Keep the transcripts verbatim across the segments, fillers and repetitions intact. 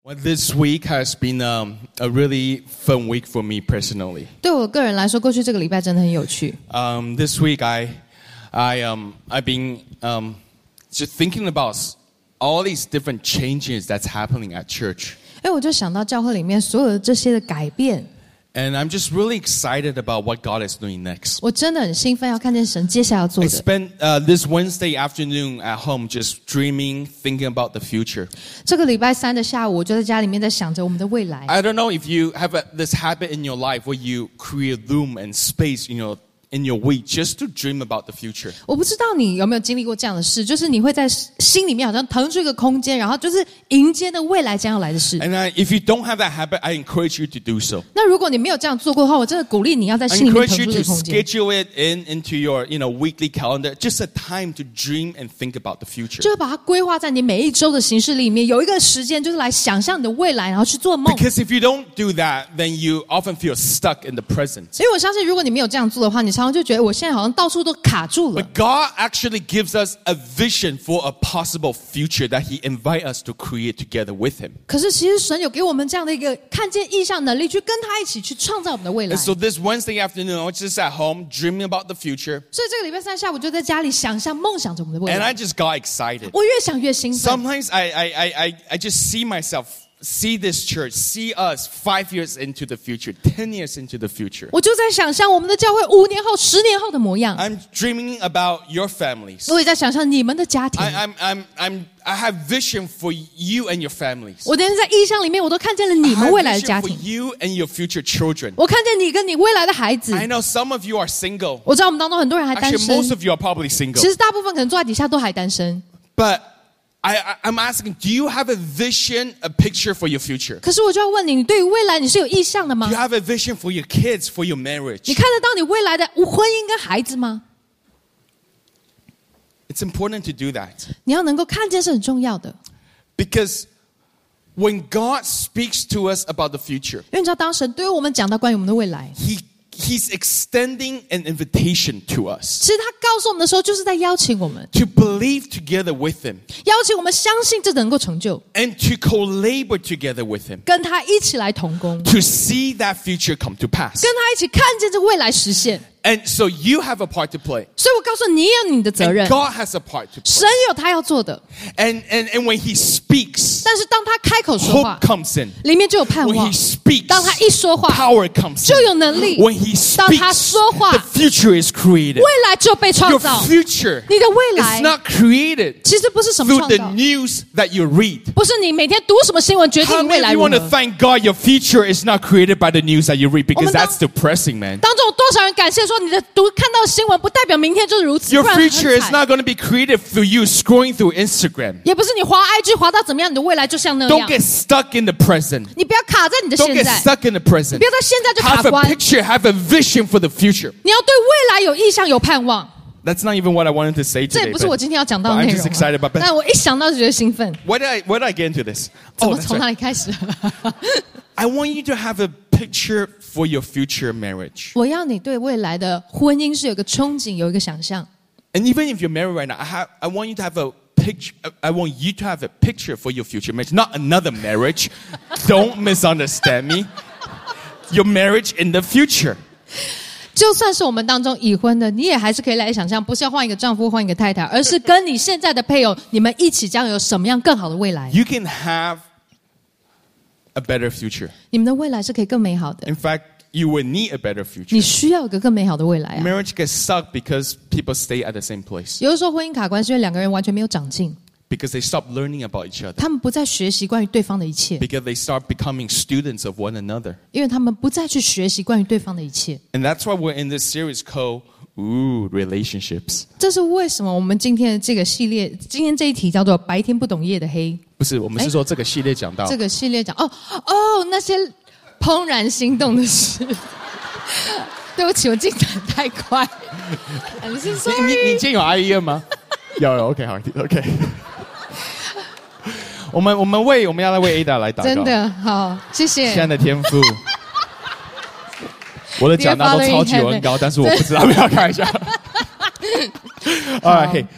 Well, this week has been um, a really fun week for me personally. 对我个人来说，过去这个礼拜真的很有趣。 Um, this week, I, I, um, I've been um, just thinking about all these different changes that's happening at church. 哎，我就想到教会里面所有的这些的改变。 And I'm just really excited about what God is doing next. 我真的很兴奋，要看见神接下来要做 I 的。 spent uh, this Wednesday afternoon at home just dreaming, thinking about the future. 这个礼拜三的下午，我就在家里面在想着我们的未来。 I don't know if you have a, this habit in your life where you create room and space, you know, in your week just to dream about the future. 我不知道你有没有经历过这样的事，就是你会在心里面好像腾出一个空间，然后就是迎接那未来将要来的事。 And I, if you don't have that habit, I encourage you to do so. 那如果你没有这样做过的话，我真的鼓励你要在 I 心里面 encourage 腾 you 出这 to 个空间， schedule it in into your, you know, weekly calendar. Just a time to dream and think about the future. 就是把它规划在你每一周的行事里面，有一个时间就是来想象你的未来，然后去做梦。 Because if you don't do that, then you often feel stuck in the present. 因为我相信，如果你没有这样做的话，你常常就觉得我现在好像到处都卡住了。 But God actually gives us a vision for a possible future that He invites us to create together with Him. 可是其实神有给我们这样的一个看见意象能力，去跟他一起去创造我们的未来。 And so this Wednesday afternoon, I was just at home dreaming about the future. 所以这个礼拜三下午就在家里想象、梦想着我们的未 And 来。 I just got excited. 我越想越兴奋。 Sometimes I, I, I, I, I just see myself, see this church, see us five years into the future, ten years into the future. 我就在想象我们的教会五年后、十年后的模样。 I'm dreaming about your families. 我也在想象你们的家庭。 I, I'm, I'm, I'm, I have vision for you and your families. 我连在意象里面，我都看见了你 I 们 have 未来的 vision 家 for 庭。 you and your future children. 我看见你跟你未来的孩子。 I know some of you are single. 我知道我们当中很多人还单 Actually, 身。 most of you are probably single. 其实大部分可能坐在底下都还单身。 But I, I, I'm asking, do you have a vision, a picture for your future? 可是我就要问你，你对于未来你是有意向的 Do 吗 you？have a vision for your kids, for your 你 marriage? 看得到你未来的婚姻跟孩子吗？ It's important to do that. 你要能够看见是很重要的， Because when God speaks to us about the future, 因为你知道，当神对于我们讲到关于我们的未来， He He's extending an invitation to us 其实他告诉我们的时候，就是在邀请我们， to believe together with Him 邀请我们相信这能够成就， and to co-labor together with Him 跟他一起来同工， to see that future come to pass. 跟他一起看见这未来实现。 And so you have a part to play. 所以我告诉你，你也有你的责 And 任， God has a part to play. 神有他要做的。 And, and, and when He speaks, 但是当他开口说话 hope，comes in. 里面就有盼 When 望 He。speaks, 当他一说话， power comes 就有 in. 能力。 When He 当他 speaks, 说话， the future is created. 未来就被创 Your 造。 future 你的未来 is not created 其实不是什么 through 创 the 造， news that you read. 不是你每天读什么新闻决 How 定未 many 来 of you 如 want to 何。 thank God your future is not created by the news that you read? Because 我们当- that's depressing, man. 当中有多少人感谢说，你的读看到新闻不代表明天就是如此， Your 不然很 future is 惨。 not going to be created through you scrolling through Instagram. 也不是你滑 I G 滑到怎么样，你的未来就像那 Don't 样。 get stuck in the present. 你不要卡在你的 Don't 现 get 在， stuck in the 你 present. 不要在现在就卡 Have a 关。 picture, have a vision for the future. 你要对未来有意向、有盼望。 That's not even what I wanted to say 这也 today. 不是我 But 今天要讲到 but 的 I'm 内 just 容 excited about 啊。 it. 但我一想到就觉得兴奋。 Why did I, why did I get into this? 怎 Oh, 么 that's 从哪 right. 里开始？ I want you to have a picture for your future marriage. 我要你对未来的婚姻是有一个憧憬，有一个想象。 And even if you're married right now, I, have, I want you to have a picture. I want you to have a picture for your future marriage, not another marriage. Don't misunderstand me. Your marriage in the future. 就算是我们当中已婚的，你也还是可以来想象，不是要换一个丈夫、换一个太太，而是跟你现在的配偶，你们一起将有什么样更好的未来。 You can have a better future. 你们的未来是可以更美好的。 In fact, you will need a better 你 future. 需要有个更美好的未来啊！ Marriage gets stuck because people stay at the same place. 有的时候婚姻卡关是因为两个人完全没有长进， Because they stop learning about each other. 他们不再学习关于对方的一切， Because they start becoming students of one another. 因为他们不再去学习关于对方的一切。 And that's why we're in this series called Ooh, Relationships. 这是为什么我们今天的这个系列，今天这一题叫做“白天不懂夜的黑不是，我们是说这个系列讲”。到这个系列讲哦哦那些怦然心动的事。对不起，我进展太快。I'm so 你 sorry。 你你今天有 I E N 吗？有有 OK 好 OK。我们我们为我们要来为 Ada 来祷告。 真的好，谢谢。 亲爱的天父，我的讲道都超级文高，但是我不知道要不要看一下。All right, hey,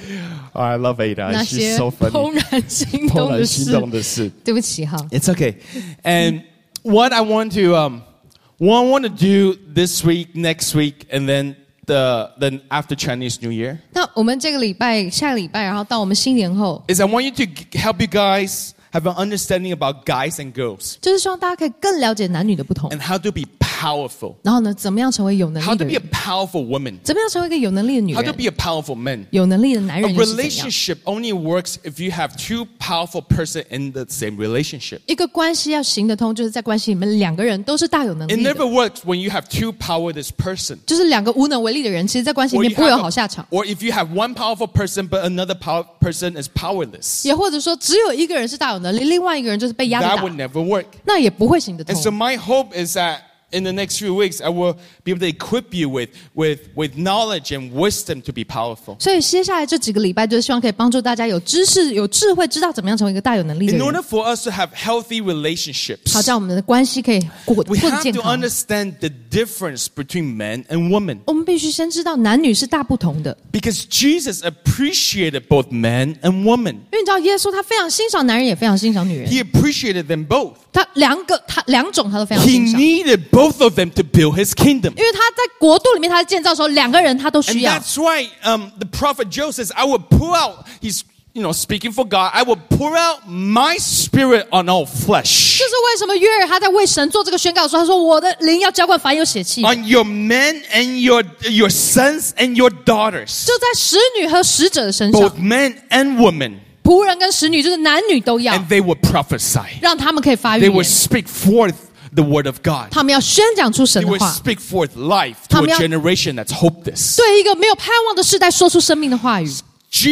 Oh, I love Ada. 那 She's 些 so funny. 怦然心动怦然的事心动。的事。 对不起哈。 It's okay. And what I want to um, what I want to do this week, next week, and then the then after Chinese New Year 那我们这个礼拜、下个礼拜，然后到我们新年后， is I want you to g- help you guys have an understanding about guys and girls 就是希望大家可以更了解男女的不同， and how to be powerful, 然后呢，怎么样成为有能 how 力 to 的 be a 人， powerful woman, 怎么样成为一个有能力的女 how to 人， be a powerful man. 有能力的男 A 人又是怎样？ relationship only works if you have two powerful person in the same relationship. 一个关系要行得通，就是在关系里面两个人都是大有能 It 力 never 的， works when you have two powerless person. 就是两个无能为力的人，其实，在关系里 Or 面 you 不会有 have 好 a- 下场。 or if you have one powerful person but another power person is powerless, 也或者说，只有一个人是大有能力，另外一个人就是被压 that 着 would 打， never work. 那也不会行得 And so 通。 my hope is that in the next few weeks, I will be able to equip you with, with, with knowledge and wisdom to be powerful. 所以接下来这几个礼拜，就是希望可以帮助大家有知识、有智慧，知道怎么样成为一个大有能力的 In 人。 order for us to have healthy relationships, 好，这样我们的关系可以过 we 过得 have 健 to 康。 understand the difference between men and women. 我们必须先知道男女是大不同的， Because Jesus appreciated both men and women. 因为你知道耶稣他非常欣赏男人，也非常欣赏女人， He appreciated them both. 他两个他两种他都非常 He 欣赏， needed both of them to build his kingdom. 因为他在国度里面他在建造的时候，两个人他都 And 需要。 that's why um, the prophet Joel says, I will pour out, he's you know, speaking for God, I will pour out my spirit on all flesh. 这是为什么约尔他在为神做这个宣告的时候，他说：“我的灵要浇灌凡有血气。” On your men and your, your sons and your daughters. 就在使女和使者的身上， Both men and women. 仆人跟使女就是男女都要， And they will prophesy. 让他们可以发预 They will 言， speak forth the word of God. 他们要宣讲出神 They 的 will 话， speak forth life to a 他们要- generation that's hopeless. 对一个没有盼望的世代说出生命的话语。你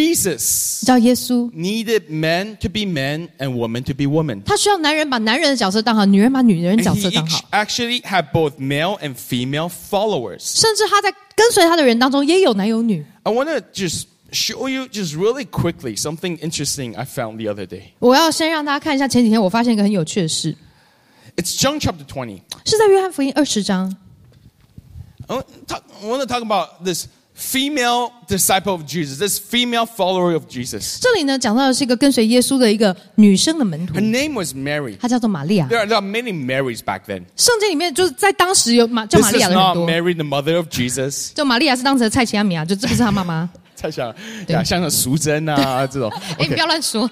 Jesus 知道耶稣， needed men to be men and women to be women. 他需要男人把男人的角色当好，女人把女人的 And 角 he 色当 each 好， actually had both male and female followers. 甚至他在跟随他的人当中也有男有女。 I want to just show you just really quickly something interesting I found the other day. 我要先让大家看一下前几天我发现一个很有趣的事， It's John chapter twenty. 是在约翰福音二十章。 I want to talk, I want to talk about this female disciple of Jesus, this female follower of Jesus. 这里呢讲到的是一个跟随耶稣的一个女生的门徒 Her，name was Mary. 她叫做玛利亚。 There are, there are many Marys back then. 圣经里面就是在当时有玛叫 This 玛利 is 亚的人 not 多， Mary, the mother of Jesus. 就玛利亚是当时的蔡奇亚米亚，就这不是她妈妈。 太像呀，像那淑珍啊这种。 哎，你不要乱说。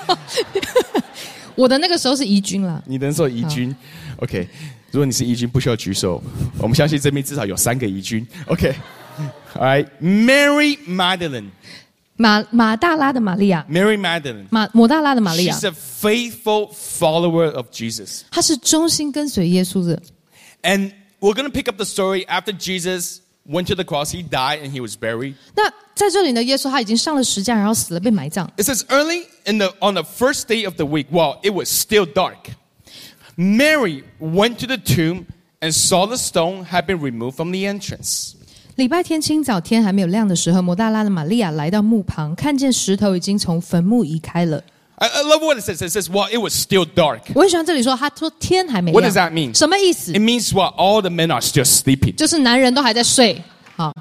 我的那个时候是怡君啦。 你能说怡君 ？OK， 如果你是怡君，不需要举手。我们相信这边至少有三个怡君。OK，All right, Mary Magdalene. 马马大拉的玛利亚， Mary Magdalene. 马抹大拉的玛利亚 She's，a faithful follower of Jesus. 她是忠心跟随耶稣的。 And we're going to pick up the story after Jesus went to the cross. He died and he was buried. 那在这里呢，耶稣他已经上了十架，然后死了，被埋葬。 It says early in the on the first day of the week, while it was still dark, Mary went to the tomb and saw the stone had been removed from the entrance. 礼拜天清早，天还没有亮的时候，抹大拉的玛利亚来到墓旁，看见石头已经从坟墓移开了。 I, I love what it says. It says, while it was still dark. 我很喜欢这里说，他说天还没 What 亮。 does that mean? 什么意思 It？means while all the men are still sleeping. 就是男人都还在睡，好，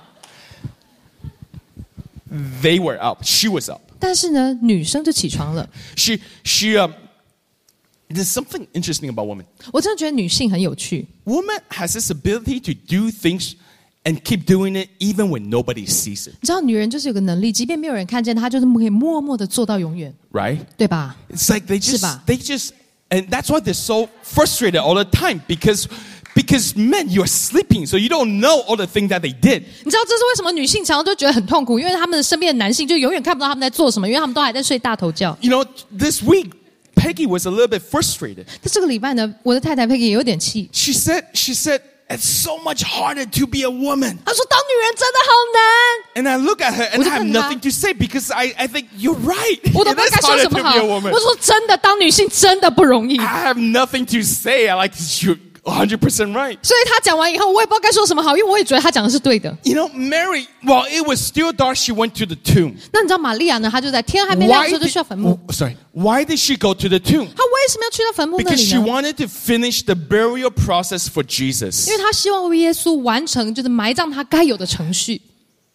They were up. She was up. 但是呢，女生就起床了。 She she um. There's something interesting about women. 我真的觉得女性很有趣， Woman has this ability to do things and keep doing it even when nobody sees it. 你知道女人就是有个能力，即便没有人看见她，就是可以默默的做到永远， Right? 对吧？ It's like they just 是吧？ they just and that's why they're so frustrated all the time because because men you're sleeping so you don't know all the things that they did. 你知道这是为什么女性常常都觉得很痛苦，因为他们的身边的男性就永远看不到他们在做什么，因为他们都还在睡大头觉。 You know, this week Peggy was a little bit frustrated. 但这个礼拜呢，我的太太佩奇也有点气， She said she said it's so much harder to be a woman. 她说当女人真的好难。 And I look at her and 我就 I have 看她。 nothing to say because I, I think you're right. 我都 It 不知 is 道该说 harder 什 to 么 be 好。 a woman. 我说真的，当女性真的不容易。 I have nothing to say. I like you're one hundred percent right. 所以她讲完以后，我也不知道该说什么好，因为我也觉得她讲的是对的。 You know, Mary, while it was still dark, she went to the tomb. 那你知道玛利亚呢？她就在天还没亮的 Why 时候就 did, 去到坟墓。 oh, sorry, why did she go to the tomb? 她为什么要去到坟墓那 Because 里 she 呢？ wanted to finish the burial process for Jesus. 因为她希望为耶稣完成就是埋葬他该有的程序。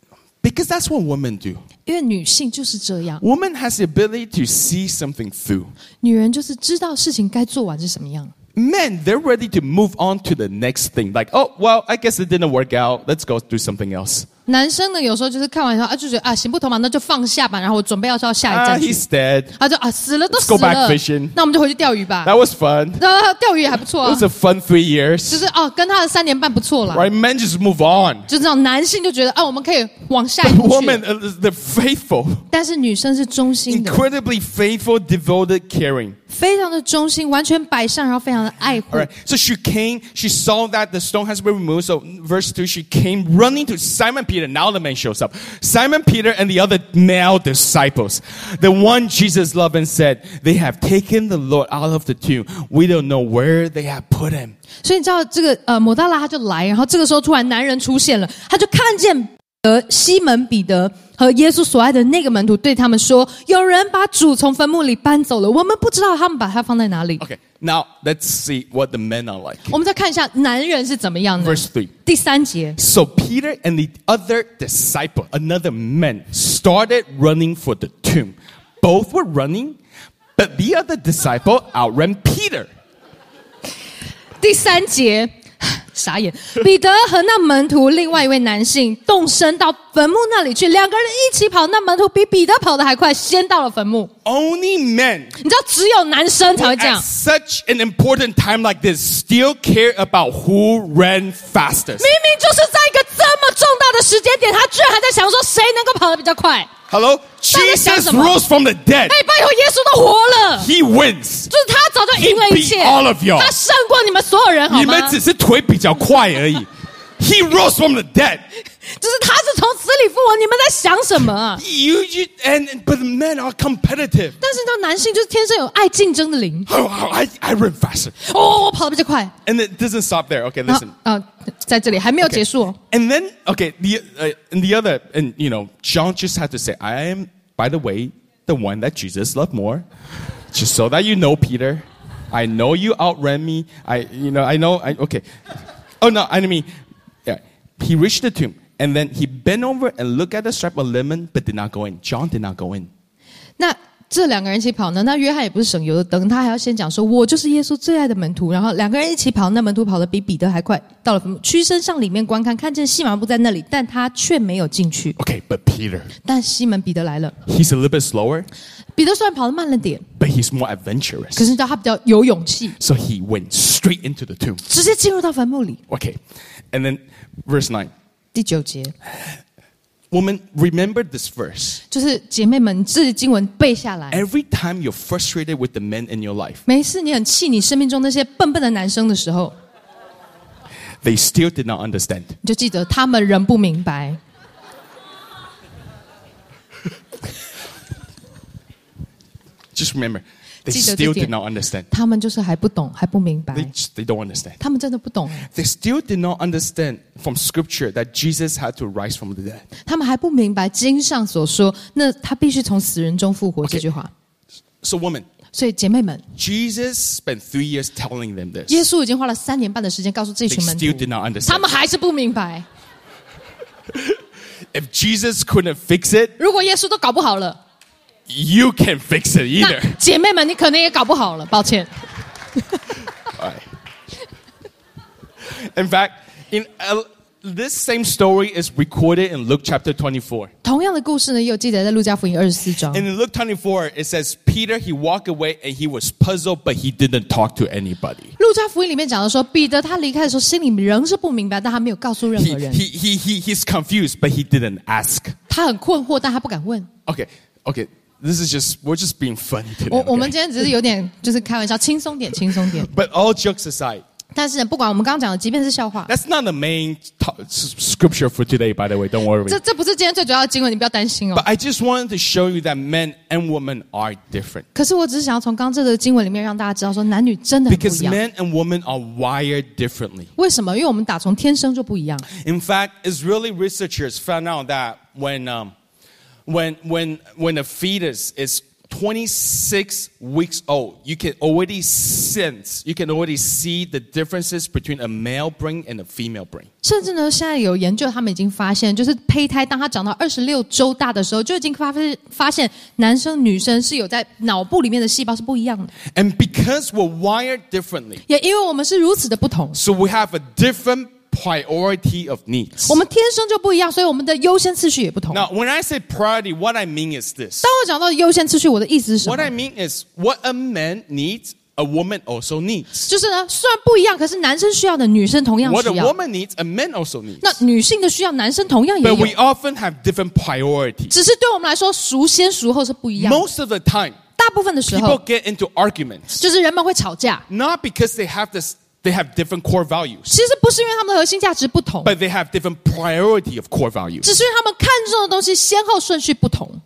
Because that's what women do. 因为女性就是这样， Woman has the ability to see something through. 女人就是知道事情该做完是什么样。 Men, they're ready to move on to the next thing. Like, oh, well, I guess it didn't work out. Let's go do something else. 男生呢，有时候就是看完以后啊，就觉得啊行不通嘛，那就放下吧，然后我准备要到下一 Ah, 站去。 he's dead. 他就啊死了都 Let's 死 go back 了 fishing. 那我们就回去钓鱼吧。 That was fun. 那钓鱼也还不错 It 啊 was，a fun three years. 就是哦跟他的三年半不错啦。 Right? Men just move on. 就这种男性就觉得啊我们可以往下一步去 Women, uh, they're faithful. 但是女生是忠心的， Incredibly faithful, devoted, caring. 非常的忠心，完全摆上，然后非常的爱护。 All right. So she came, she saw that the stone has been removed. So verse two, she came running to Simon Peter. Now the man shows up. Simon Peter and the other male disciples. The one Jesus loved and said, they have taken the Lord out of the tomb. We don't know where they have put him. 所以你知道这个呃抹大拉他就来，然后这个时候突然男人出现了，他就看见呃西门彼得和耶稣所爱的那个门徒对他们说，有人把主从坟墓里搬走了，我们不知道他们把他放在哪里。 Okay. Now let's see what the men are like. 我们再看一下男人是怎么样的。 Verse three. 第三节， So Peter and the other disciple, another man, started running for the tomb. Both were running, but the other disciple outran Peter. 第三节，傻眼，彼得和那门徒另外一位男性动身到坟墓那里去，两个人一起跑，那门徒比彼得跑得还快，先到了坟墓。 Only men 你知道，只有男生才会这 at 样。 such an important time like this still care about who ran fastest. 明明就是在一个这么重大的时间点，他居然还在想说谁能够跑得比较快。 Hello? 大家想 Jesus 什么？ rose from the dead. 哎，拜托，耶稣都活了， He wins. 就是他早就赢了一切， He beat all of y'all. 他胜过你们所有人，好吗？ 你们只是腿比较快而已. He rose from the dead. 就是他是从死里复活，你们在想什么啊？ You, you and but men are competitive. 但是呢，男性就是天生有爱竞争的灵。 Oh, I, I run faster. 哦，我跑得比较快。 And it doesn't stop there. Okay, 然后 listen. 啊，在这里还没有结束哦。 And then, okay, the uh, and the other, and you know, John just had to say, I am, by the way, the one that Jesus loved more. Just so that you know, Peter, I know you outran me. I, you know, I know, I, okay. Oh, no, I mean, yeah. He reached the tomb, and then he bent over and looked at the stripe of linen, but did not go in. John did not go in. 那这两个人一起跑呢？那约翰也不是省油的灯，他还要先讲说，我就是耶稣最爱的门徒。然后两个人一起跑，那门徒跑得比彼得还快，到了坟墓，屈身向里面观看，看见细麻布在那里，但他却没有进去。 Okay, but Peter, 但西门彼得来了， he's a little bit slower, 彼得虽然跑得慢了点， but he's more 可 adventurous. 是你知道他比较有勇气， So he went straight into the tomb. 直接进入到坟墓里。 Okay, and then verse nine. 第九节 Woman, remember this verse. 就是姐妹们，这经文背下来。 Every time you're frustrated with the men in your life, 每一次你很气你生命中那些笨笨的男生的时候， they still did not understand. 你就记得他们仍不明白。 Just remember, they 记得这 still 点。 did not understand. 他们就是还不懂，还不明 They 白， just, they don't understand. 他们真的不懂， They still did not understand from Scripture that Jesus had to rise from the dead. 他们还不明白经上所说，那他必须从死人中复活这句话。 So, woman, 所以姐妹们， Jesus spent three years telling them this. 耶稣已经花了三年半的时间告诉这 They 群门 still did 徒， not 他 understand. 们还是不明白。 If Jesus couldn't fix it, 如果耶稣都搞不好了， you can't fix it 那 either. 姐妹们，你可能也搞不好了，抱歉。 All right. In fact, in uh, this same story is recorded in Luke chapter twenty-four. 同样的故事呢，也有记载在路加福音二十四章。 And in Luke twenty-four, it says, Peter, he walked away and he was puzzled, but he didn't talk to anybody. 路加福音里面讲的说，彼得他离开的时候，心里仍是不明白，但他没有告诉任 He, 何人。 he, he, he, he's confused, but he didn't ask. 他很困惑，但他不敢问。 Okay, okay. This is just, we're just being funny 我 today. 我们 Okay? 今天只是有点就是开玩笑，轻松点，轻松点。 But all jokes aside, 但是不管我们刚刚讲的，即便是笑话， that's not the main t- s- scripture for today, by the way. Don't worry. 这这不是今天最主要的经文，你不要担心 But 哦。 I just wanted to show you that men and women are different. 可是我只是想要从刚刚这个经文里面让大家知道，说男女真的很不 Because 一样。 men and women are wired differently. 为什么？因为我们打从天生就不一样。 In fact, Israeli researchers found out that when, um, when, when, when a fetus is twenty-six weeks old, you can already sense, you can already see the differences between a male brain and a female brain. 甚至呢，现在有研究，他们已经发现，就是胚胎当它长到二十六周大的时候，就已经发现发现男生女生是有在脑部里面的细胞是不一样的。 And because we're wired differently, 也因为我们是如此的不同， so we have a different priority of needs. 我们天生就不一样，所以我们的优先次序也不同。 Now, when I say priority, what I mean is this. 当我讲到优先次序，我的意思是什 What 么？ I mean is what a man needs, a woman also needs. 就是呢，虽然不一样，可是男生需要的女生同样 What a 需要。 woman needs, a man also needs. 那女性的需要，男生同样也 But 有 we，often have different priorities. 只是对我们来说，孰先孰后是不一样的。 Most of the time, 大部分的时 people 候， get into arguments, 就是人们会吵架， not because they have this, they have different core values, 其实不是因为他们的核心价值不同， but they have different priority of core values. 只是因为他们看重的东西先后顺序不同。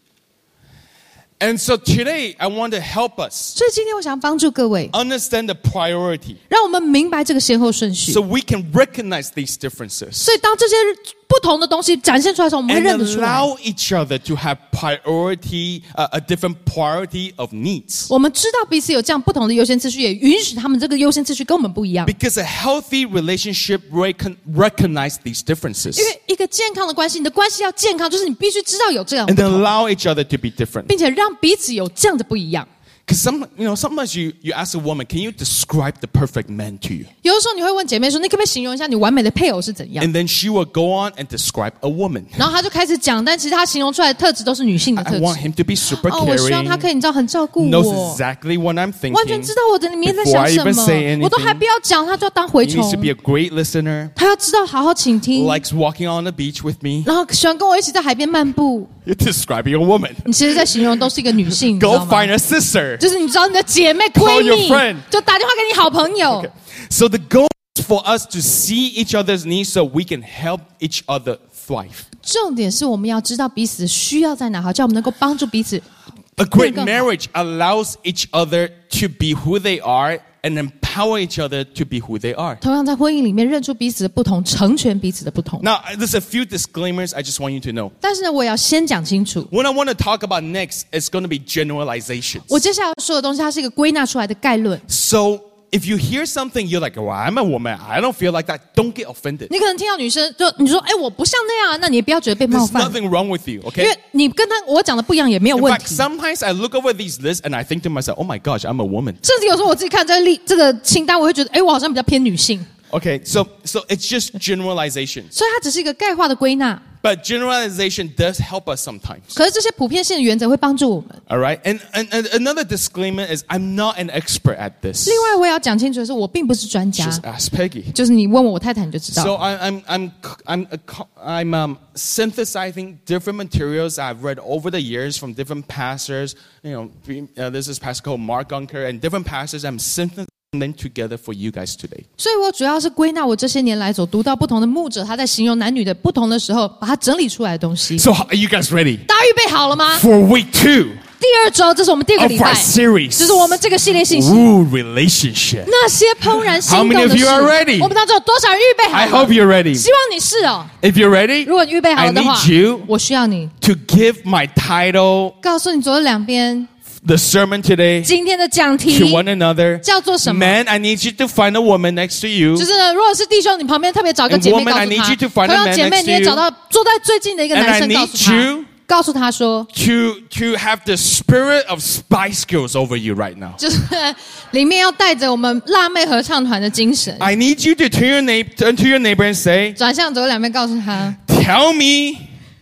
And so today, I want to help us 所以今天我想帮助各位， understand the priority 让我们明白这个先后顺序。 so we can recognize these differences 所以当这些不同的东西展现出来的时候，我们会 and 认得出来。 allow each other to have priority, uh, a different priority of needs. 我们知道彼此有这样不同的优先次序，也允许他们这个优先次序跟我们不一样。 Because a healthy relationship recon- recognize these differences 因为一个健康的关系，你的关系要健康，就是你必须知道有这样 and 不同， allow each other to be different. 并且让彼此有这样的不一样。 Because some, you know, sometimes you, you ask a woman, can you describe the perfect man to you? 有的时候你会问姐妹说：“你可不可以形容一下你完美的配偶是怎样 And then she will go on and describe a woman. ？” 然后她就开始讲，但其实她形容出来的特质都是女性的 I 特 want 质。 him to be super 哦，我希望她可 caring, 以，你知道，很照顾 knows 我， exactly what I'm 完全 thinking. 知道我的里面在 Before 想 I 什 even say 么，我都还 anything, 不要讲，她就要当蛔 He needs to 虫 be。a great listener, 她要知道好好倾听， likes walking on the beach with me. 然后喜欢跟我一起在海边漫步。 You're describing a woman. 你其实，在形容都是一个女性，你知 Go 道吗？ find a sister. 就是你知道你的姐妹、闺 Call your 蜜 friend， 就打电话给你好朋友。 So the goal is for us to see each other's needs so we can help each other thrive. 重点是我们要知道彼此的需要在哪，好叫我们能够帮助彼此。 A great 更好。 marriage allows each other to be who they are and empower each other to be who they are. 同样在婚姻里面认出彼此的不同，成全彼此的不同。 Now, there's a few disclaimers I just want you to know. 但是呢，我也要先讲清楚， What I want to talk about next is going to be generalizations. 我接下来要说的东西，它是一个归纳出来的概论。 So if you hear something, you're like, well, I'm a woman. I don't feel like that. Don't get offended. 你可能听到女生就你说，哎，我不像那样啊，那你也不要觉得被冒 There's 犯， nothing wrong with you, 因 okay? 为你跟他我讲的不一样也没有 In 问 fact, 题。 sometimes I look over these lists and I think to myself, oh my gosh, I'm a woman. 甚至有时候我自己看这个例这个清单，我会觉得，哎，我好像比较偏女性， Okay, so so it's just generalizations. 所以它只是一个概化的归纳。 But generalization does help us sometimes. 可是这些普遍性的原则会帮助我们。 All right? And, and, and another disclaimer is I'm not an expert at this. 另外，我也要讲清楚的是，我并不是专家， Just ask Peggy. 就是你问我我太太你就知道。 So I, I'm I'm I'm I'm um, synthesizing different materials I've read over the years from different pastors. You know, uh, this is pastor called Mark Gunker and different pastors. I'm synthesizing them together for you guys today. 所以我主要是归纳我这些年来所读到不同的牧者他在形容男女的不同的时候，把它整理出来的东西。 So are you guys ready 大家预备好了吗？ for week two 第二周，这是我们第二个 of 礼 our 拜， series? 这是我们这个系列信息。 Ooh, relationship. 那些怦然心 How 动 many 的 of 事， you are ready? 我们当中有多少人预备好 I 了？ hope you're ready. 希望你是哦。 If you're ready, 如果你预备好 I 了的话 need you 我需要你 to give my title, 告诉你左右两边 the sermon today, 今天的讲题 to one another. 叫做什么？ Man, I need you to find a woman next to you. 就是呢，如果是弟兄，你旁边特别找一个 And 姐妹 woman, 告 I 诉 need 他； you to find a 同样 man 姐妹 next 你也 to 找 you. 到坐在最近的一个 And 男 I 生，告 need 诉他 you， 告诉他说， To to have the spirit of Spice Girls over you right now. 就是里面要带着我们辣妹合唱团的精神， I need you to turn your na- turn to your neighbor and say, 转向左右两边，告诉他。 "Tell me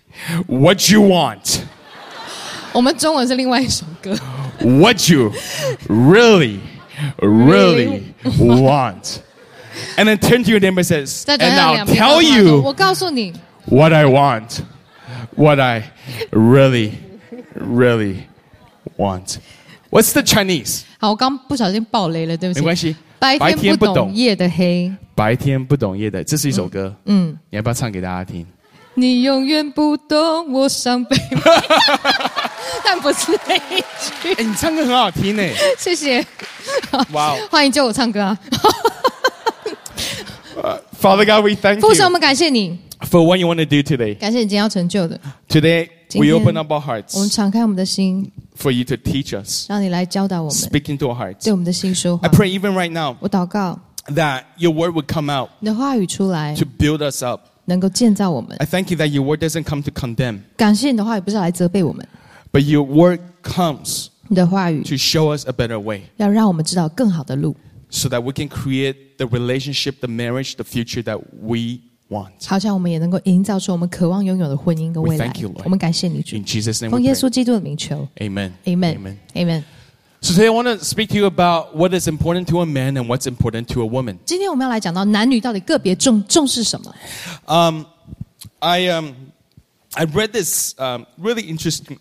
what you want, 我们中文是另外一首歌， what you really, really want." And then turn to your neighbor and says, 再 "And 转向 I'll 两边，告 tell 诉他说 you 我告诉你， what I want, what I really, really want." What's the Chinese? 好，我刚不小心爆雷了，对不起。 没关系， 白白天不懂天不懂夜的黑， 白天不懂夜的，这是一首歌， 嗯， 你要不要唱给大家听？ 你永远不懂我伤悲，但不是那一句。 哎，你唱歌很好听呢。 谢谢， 哇哦欢迎救我唱歌啊！ Father God, we thank 父神，我 you 们感谢你， for what you want to do today. 感谢你今天要成就的。 Today, 今 we 天 open up our 我们 hearts 敞开我们的心， for you to teach us, 让你来教导我们， speak into our hearts. 对我们的心说 I 话。 pray even right now 我祷告， that your word would come out 你的话语出来， to build us up. 能够建造我们。 I thank you that your word doesn't come to condemn, 感谢你的话语不是来责备我们， but your word comes 你的话语 to show us a better way 要让我们知道更好的路， so that we can create the relationship, the marriage, the future that we want. 好像我们也能够营造出我们渴望拥有的婚姻跟未 We 来 thank you, Lord. 我们感谢你主， In Jesus' name 奉 we 耶 pray. 稣基督的名求 Amen. ，Amen Amen。 So today I want to speak to you about what is important to a man and what's important to a woman. 今天我们要来讲到男女到底个别重重视什么。 Um, I um, I read this um, really interesting,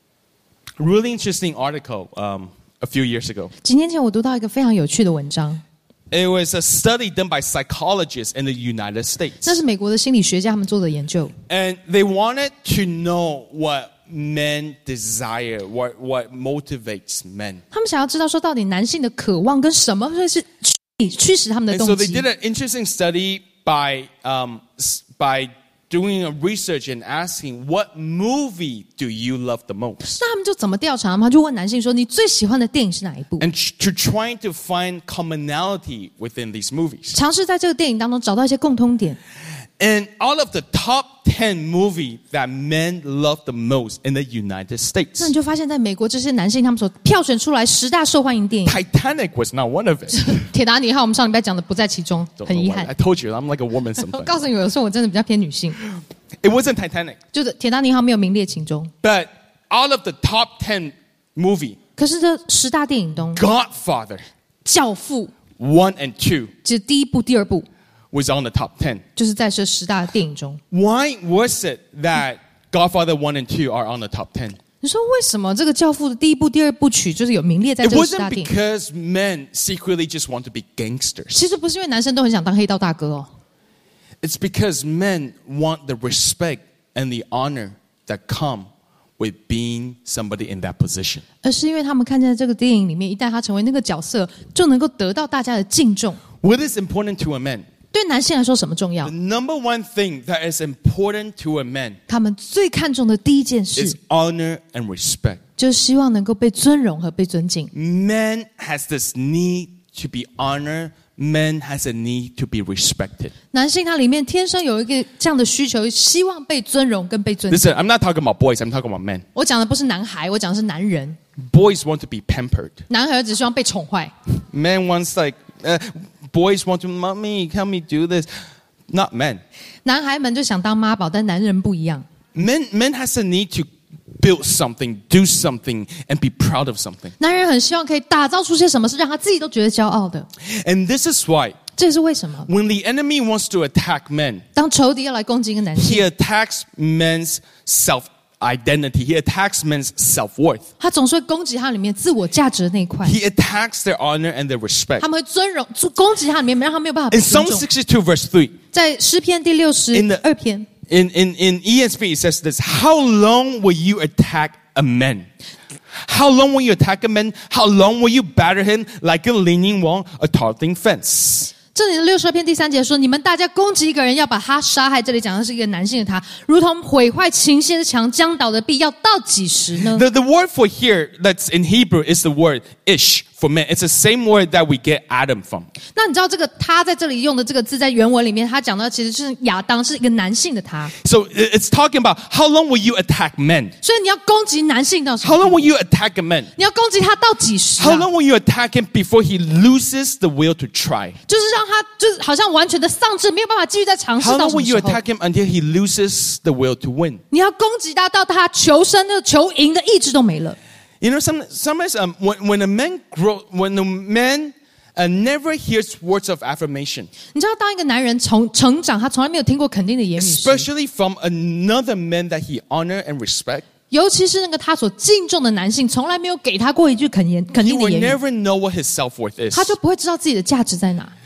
really interesting article um, a few years ago. 几年前我读到一个非常有趣的文章， It was a study done by psychologists in the United 那 States, 是美国的心理学家他们做的研究， and they wanted to know what men desire, what what motivates men. 他们想要知道说到底男性的渴望跟什么会是驱驱使他们的 And 动 so they 机 did。an interesting study by um, s- by doing a research and asking, what movie do you love the most? 那他们就怎么调查？他们就问男性说：“你最喜欢的电影是哪一部？” And tr- to trying to find commonality within these movies. 尝试在这个电影当中找到一些共通点。 And out of the top ten movies that men love the most in the United 那 States, 你就发现，在美国这些男性他们所票选出来十大受欢迎电影，《 Titanic was not one of it. 铁达尼号》我们上礼拜讲的不在其中， Don't 很 know 遗 why. 憾 I。told you, I'm like a woman 我 sometimes. 告诉你，有时候我真的比较偏女性， It wasn't Titanic. 就是《铁达尼号》没有名列其中。 But out of the top ten movie, 可是这十大电影中，《 Godfather 教父》 one and two 就是第一部、第二部， was on the top ten. 就是在这十大电影中。 Why was it that Godfather one and two are on the top ten? 你说为什么这个《教父》的第一部、第二部曲就是有名列在 It 这个十 wasn't 大电影？ because men secretly just want to be gangsters. 其实不是因为男生都很想当黑道大哥哦， It's because men want the respect and the honor that come with being somebody in that position. 而是因为他们看见在这个电影里面，一旦他成为那个角色，就能够得到大家的敬重。 What is important to a man? 对男性来说，什么重要 The？ number one thing that is important to a man 他们最看重的第一件 is 事， honor and respect. 就是希望能够被尊荣和被尊敬。 Man has this need to be honored. Man has a need to be respected. 男性他里面天生有一个这样的需求，希望被尊荣跟被尊敬。 Listen, I'm not talking about boys. I'm talking about men. 我讲的不是男孩，我讲的是男人。 Boys want to be pampered. 男孩只希望被宠坏， Men wants like, uh, boys want to, mommy, help me do this. Not men. 男孩们就想当妈宝，但男人不一样。 Men, men has a need to build something, do something, and be proud of something. 男人很希望可以打造出些什么是让他自己都觉得骄傲的。 And this is why 这也是为什么， when the enemy wants to attack men, 当仇敌要来攻击一个男 he 性， attacks men's self-identity. He attacks men's self-worth. 他总是会攻击他里面自我价值的那一块。 He attacks their honor and their respect. 他们会尊荣攻击他里面，让他没有办法被 In 尊 Psalm 重。 sixty-two verse three, 在诗篇第六十 In the- 二篇， in, in, in E S V, it says this, how long will you attack a man? How long will you attack a man? How long will you batter him like a leaning wall, a tottering fence? 这里的六十二篇第三节说：“你们大家攻击一个人，要把他杀害。”这里讲的是一个男性的他，如同毁坏琴弦的墙，将倒的壁，要到几时呢？ The, the word for here that's in Hebrew is the word ish for man. It's the same word that we get Adam from. 那你知道这个他在这里用的这个字，在原文里面，他讲到其实就是亚当是一个男性的他， So it- it's talking about how long will you attack men? 所以你要攻击男性到什 How 么 long 地步？ will you attack a man? 你要攻击他到几时、 How 啊？ long will you attack him before he loses the will to try? 就是让他就是好像完全的丧志，没有办法继续再尝试 How 到 long 什么 will you 时候？ attack him until he loses the will to win? 你要攻击他到他求生的、求赢的意志都没了。 You know, some, sometimes um, when, when a man grow, when a man uh, never hears words of affirmation, 你知道，当一个男人从成长，他从来没有听过肯定的言语时， especially from another man that he honor and respect, 尤其是那个他所敬重的男性，从来没有给他过一句肯言肯 he 定的 will 言语， never know what his self-worth is. 他就不会知道自己的价值在哪。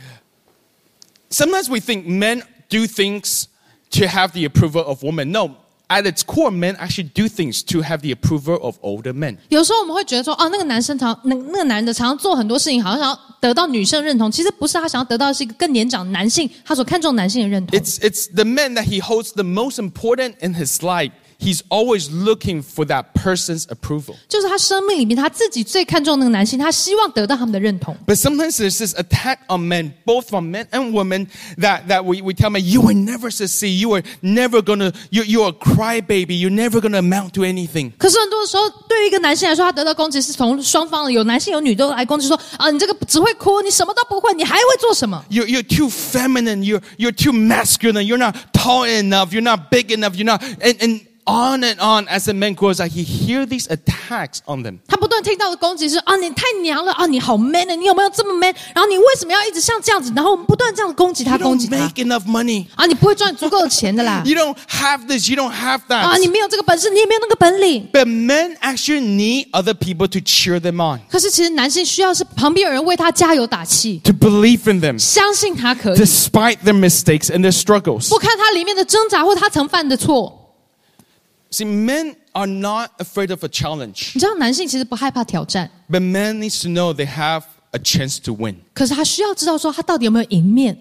Sometimes we think men do things to have the approval of women. No, at its core, men actually do things to have the approval of older men. 有时候我们会觉得说，哦，那个男生常那那个男的常常做很多事情，好像想要得到女生认同，其实不是，他想要得到的是一个更年长男性，他所看重男性的认同。 It's, it's the men that he holds the most important in his life. he's always looking for that person's approval. 就是他生命里面他自己最看重那个男性，他希望得到他们的认同。 But sometimes there's this attack on men, both from men and women, that, that we, we tell men, you will never succeed, you are never gonna, you, you're a crybaby, you're never gonna amount to anything. 可是很多的时候，对于一个男性来说，他得到攻击是从双方的，有男性有女都来攻击说啊，你这个只会哭，你什么都不会，你还会做什么？ You're, you're too feminine, you're, you're too masculine, you're not tall enough, you're not big enough, you're not, and, and on and on as a man grows up, he hear these attacks on them. 他不断听到的攻击是啊，你太娘了啊，你好 man 的，你有没有这么 man？ 然后你为什么要一直像这样子？然后我们不断这样攻击他， You 攻击 don't 他 make enough money. 啊，你不会赚足够的钱的啦 You don't have this, you don't have 啊， that. 你没有这个本事，你也没有那个本领。 But men actually need other people to cheer them on, 可是其实男性需要是旁边有人为他加油打气， to believe in them, 相信他可以， despite their mistakes and their struggles. 不看他里面的挣扎或他曾犯的错。 See, men are not afraid of a challenge, 你知道，男性其实不害怕挑战， but men needs to know they have a chance to win. 可是他需要知道说他到底有没有赢面。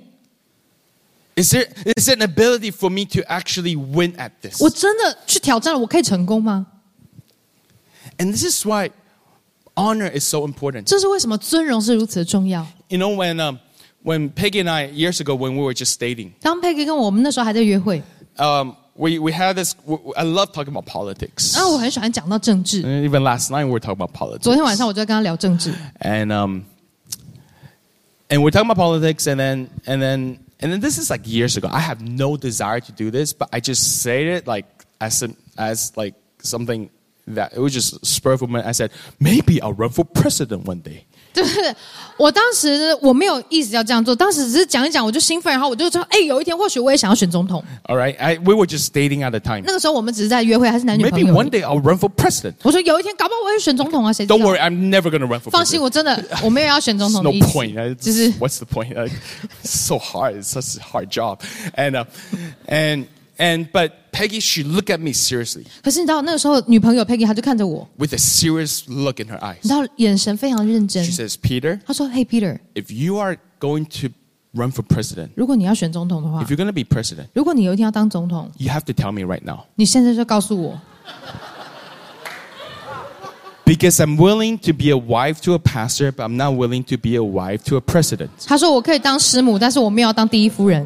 Is there, is there an ability for me to actually win at this? 我真的去挑战了，我可以成功吗？ And this is why honor is so important. 这是为什么尊荣是如此的重要。 You know, when, um, when Peggy and I, years ago, when we were just dating, 当佩克跟我们那时候还在约会， um, we, we had this, I love talking about politics. 然后我很喜欢讲到政治。 And even last night we were talking about politics. 昨天晚上我就在跟他聊政治， And, um, and we're talking about politics, and then, and then, and then this is like years ago. I have no desire to do this, but I just said it like as, a, as like something that it was just spur of a moment. I said, maybe I'll run for president one day. 就是我当时我没有意思要这样做，当时只是讲一讲，我就兴奋，然后我就说，哎，有一天或许我也想要选总统。 All right, I, we were just dating at the time. 那个时候我们只是在约会，还是男女朋 Maybe 友。 one day I'll run for president. 我说有一天搞不好我会选总统啊，谁知道 Don't worry, I'm never going to run for 放心， president. 我真的我没有要选总统 No 的意思， point. It's 就是 What's the point? Like, it's so hard. It's such a hard job. And, uh, and, and, but Peggy, she looked at me seriously 可是你知道那个时候女朋友 Peggy 她就看着我， with a serious look in her eyes. 你知道眼神非常认真 She。says, Peter, 她说：“Hey Peter， if you are going to run for president, 如果你要选总统的话 if，you're going to be president, 如果你有一天要当总统， you have to tell me right now. 你现在就告诉我， Because I'm willing to be a wife to a pastor, but I'm not willing to be a wife to a president. 她说我可以当师母，但是我没有要当第一夫人。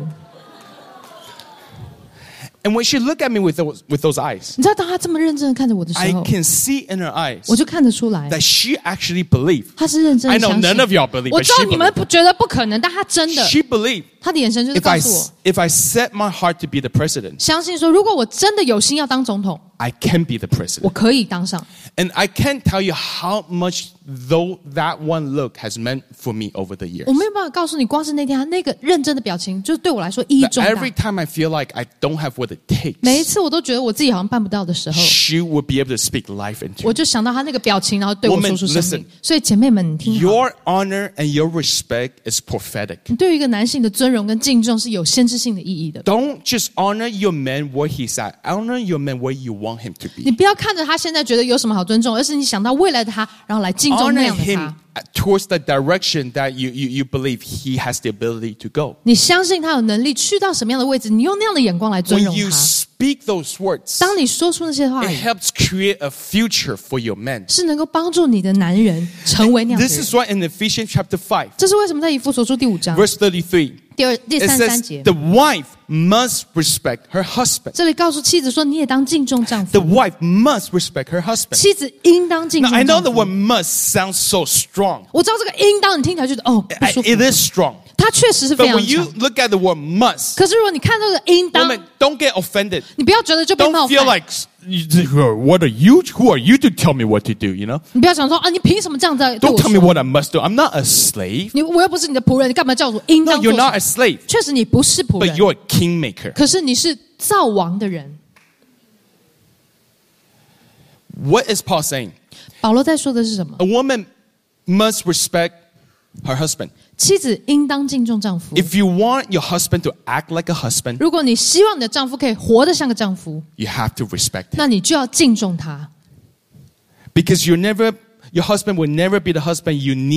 And when she looked at me with those, with those eyes, 你知道，当她这么认真的看着我的时 I 候， can see in her eyes 我就看得出来， that she actually believed. 她是认真 I 的 know 相信。 none of y'all believe, 我 but 知道 she 你们 believed. 不觉得不可能，但她真的， She believed 她的眼神就是 if 告 I, 诉我， if I set my heart to be the president, 相信说，如果我真的有心要当总统， I can be the 我 president. 可以当上。 And I can't tell you how much though that one look has meant for me over the years. 我没有办法告诉你，光是那天她那个认真的表情，就对我来说意义 That 重大 every。time I feel like I don't have what it 每一 takes, 次我都觉得我自己好像办不到的时候， she would be able to speak life into 我 me. 就想到她那个表情，然后对我 Woman, 说出生 listen. 命。所以姐妹们，你听好， Your honor and your respect is prophetic. 你对于一个男性的尊荣跟敬重是有先知性的意义的。 Don't just honor your man where he's at. Honor your man where you want him to 你 be. 不要看着他现在觉得有什么好尊重，而是你想到未来的他，然后来敬重那 Honor 样的 him 他。 towards the direction that you, you, you believe he has the ability to go. 你相信他有能力去到什么样的位置，你用那样的眼光来尊 When 荣 you 他。 speak those words, 当你说出那些话 it 语， helps create a future for your men. 是能够帮助你的男人成为那样的 This 人。 is why in Ephesians chapter five, 这是为什么在以弗所书第五章 verse thirty-three, 第二第 it 三十三 says 节， the wife must respect her husband. 这里告诉妻子说，你也当敬重丈夫 The，wife must respect her husband. 妻子应当敬 Now, 重 I know 丈 the 夫 word。must sounds so strong. 我知道这个应当，你听起来觉得哦不 I- 舒服， It is strong. 它确实是非 But 常 when you 强。 look at the word must, 可是如果你看这个应当， woman, don't get offended. 你不要觉得就被冒 Don't feel 犯， like, what are you? Who are you to tell me what to do, you know? 你不要想说啊，你凭什么这样在对 Don't 我 tell me 说？ what I must do. I'm not a slave. 你我又不是你的仆人，你干嘛叫我应 No, 当做 you're 什 not 么 a slave, 确实你不是仆 but 人， you're a kingmaker. 可是你是造王的人。 What is Paul saying? 保罗在说的是什么？ A woman must respect her husband. 妻子应当敬重丈夫。 If you want your husband to act like a husband, 如果你希望你的丈夫可以活得像个丈夫， you have to respect him. 那你就要敬重他， Because you never, your husband will never be the husband you need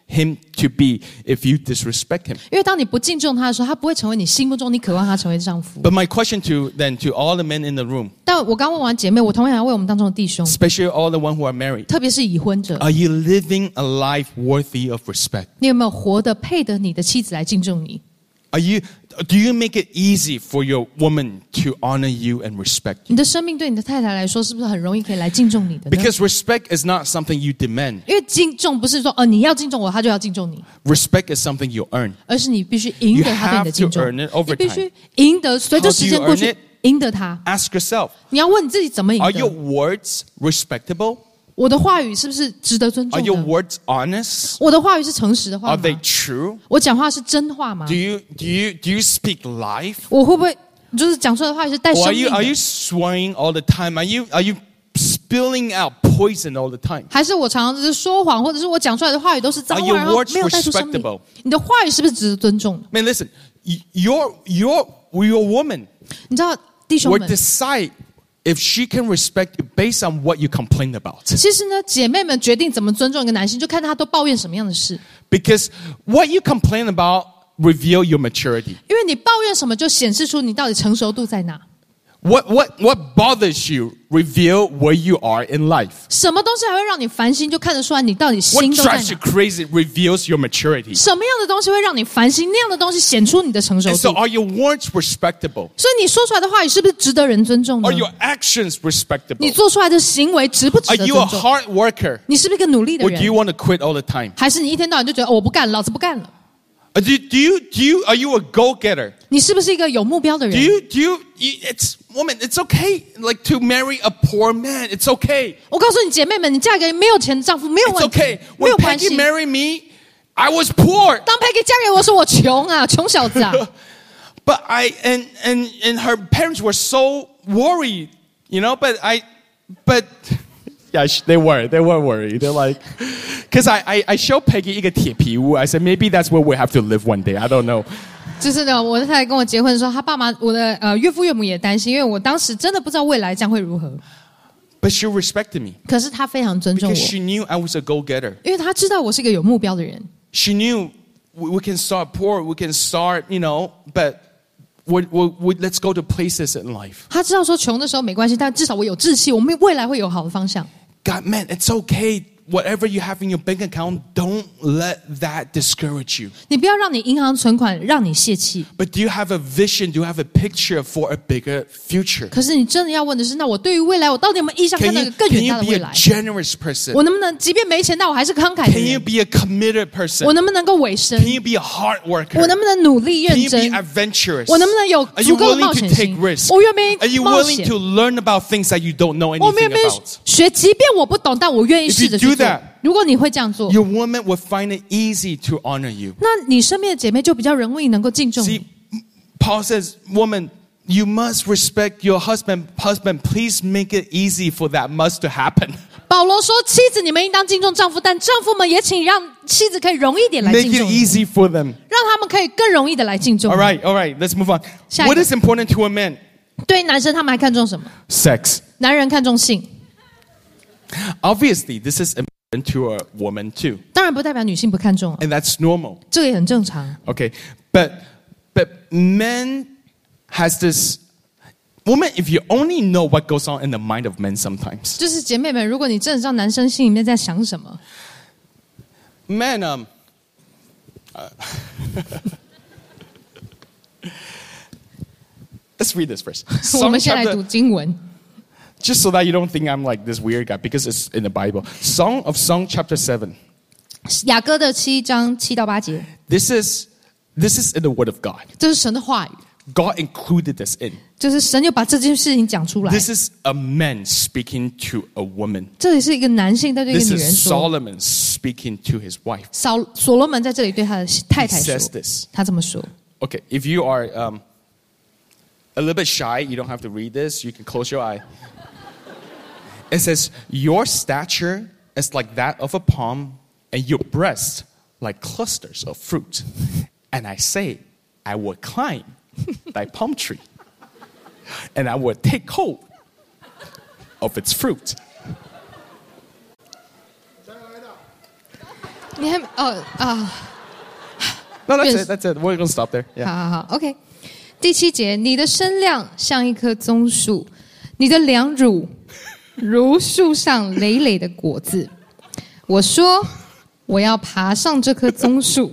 him to be if you disrespect him. 因为当你不敬重他的时候，他不会成为你心目中你渴望他成为的丈夫。 But my question to then to all the men in the room, 但我刚问完姐妹，我同样要为我们当中的弟兄， especially all the ones who are married, 特别是已婚者， are you living a life worthy of respect? 你有没有活得配得你的妻子来敬重你？ Are you, do you make it easy for your woman to honor you and respect you? 你的生命对你的太太来说，是不是很容易可以来敬重你的呢？ Because respect is not something you demand. 因为敬重不是说哦你要敬重我，他就要敬重你， Respect is something you earn. 而是你必须赢得他对你的敬重。 You have to earn it over 你必须赢得，随着时间过 How do you 去 earn， 赢得他。 Ask yourself, 你要问你自己怎么赢 are your 得？ words respectable? 我的话语是不是值得尊 Are 重 your 的？ words honest? 我的话语是诚实的话 Are 吗？ they true? 我讲话是真话吗 Do？you do you do you speak life? 我会不会就是讲出来的话语是带 Or 生 are 命 you are you 的？ swearing all the time? Are you are you spilling out poison all the time? 还是我常常就是说谎，或者是我讲出来的话语都是脏 Are 话， your 然后 words 没有带出生命 respectable？ 你的话语是不是值得尊重的？ Man, listen, y- your your your woman 你知道，弟兄 will 们， decide if she can respect you based on what you complain about. 其实呢，姐妹们决定怎么尊重一个男性，就看他都抱怨什么样的事。 Because what you complain about reveal your maturity. 因为你抱怨什么，就显示出你到底成熟度在哪。 What what what bothers you reveal where you are in life. 什么东西还会让你烦心，就看得出来你到底 What 心都在 drives you 哪。 crazy reveals your maturity. 什么样的东西会让你烦心？那样的东西显出你的成熟 And so 度。 are your words respectable? 所以你说出来的话语是不是值得人尊重呢 Are？your actions 你 respectable? 做出来的行为值不值 Are 得 you a 尊重？ hard worker? 你是不是一个努力的 Or do you 人？ want to quit all the time? 还是你一天到晚就觉得、哦、我不干了，老子不干了？ Or Do do you do you are you a go-getter? 你是不是一个有目标的 Do 人？ you do you, you it's woman, it's okay like to marry a poor man. It's okay. 我告诉你姐妹们，你嫁给没有钱的丈夫没有 It's 问题 okay. 没 When 有关系 Peggy。married me, I was poor. 当 Peggy 嫁给我时，我穷啊，穷小子啊。 But I and and and her parents were so worried, you know, but I but yeah, sh- they were. They were worried. They're like cuz I I I showed Peggy 一个铁皮屋. I said maybe that's where we have to live one day. I don't know. 就是呢，我的太太跟我结婚的时候，她爸妈，我的呃岳父岳母也担心，因为我当时真的不知道未来将会如何。 But she respected me 可是她非常尊重 because 我， she knew I was a go-getter. 因为她知道我是一个有目标的人。 She knew we, we can start poor, we can start, you know, but we we we let's go to places in life. 她知道说穷的时候没关系，但至少我有志气，我们未来会有好的方向。 God, man, it's okay. Whatever you have in your bank account, don't let that discourage you. 你不要让你银行存款让你泄气。 But do you have a vision? Do you have a picture for a bigger future? 可是你真的要问的是，那我对于未来，我到底有没有意向看 Can 到一 you, 个更 can 远 you 大的 be 未 a 来？ generous person? 我能不能即便没钱，但我还是慷慨的 Can you 人？ be a committed person? 我能不能够委身？ Can you be a hard 我 worker? 能不能努力 Can 认 you be 真？ adventurous? 我能不能有 Are you 足够的冒 willing 险 to take 心 risks? 我愿不愿意 Are you 冒 willing 险 to learn about things that you don't know 我们愿 anything 不愿意 about? 学？即便我不懂，但我愿意 If 试 you 着 do 去做 that,。 如果你会这样做， Your woman will find it easy to honor you. 那你身边的姐妹就比较容易能够敬重 See, 你。 Paul says, woman, you must respect your husband. Husband, please make it easy for that must to happen. 保罗说：“妻子，你们应当敬重丈夫，但丈夫们也请让妻子可以容易点来 Make 敬 it 重你， easy for them. 让他们可以更容易的来敬重 All 你。 right, all right, let's move on. 下一个。 What is important to a man? 对于男生，他们还看重什么？ Sex. 男人看重性， Obviously, this is important to a woman too. 当然不代表女性不看重啊， And that's normal. 这个也很正常。 Okay. But but men has this woman, if you only know what goes on in the mind of men sometimes. 就是姐妹们，如果你真的知道男生心里面在想什么， Men, um uh, let's read this verse. 我 Song 们先来 chapter, 读经文。 just so that you don't think I'm like this weird guy, because it's in the Bible. Song of Song chapter seven. 雅歌的七章七到八节， This is this is in the Word of God. 这是神的话语， God included this in. 就是神就把这件事情讲出来。 This is a man speaking to a woman. 这里是一个男性在对一个 This 女人 is 说， Solomon speaking to his wife. 扫所罗门在这里对他的太太 He 说 says，this. 他这么说。 Okay, if you are um, a little bit shy, you don't have to read this. You can close your eye. It says, your stature is like that of a palm, and your breast like clusters of fruit. And I say, I will climb thy palm tree, and I will take hold of its fruit. 你还哦啊。 No, that's it. That's it. We're gonna stop there. Yeah. 好好好 ，OK。第七节，你的身量像一棵棕树，你的两乳如树上累累的果子。我说，我要爬上这棵棕树。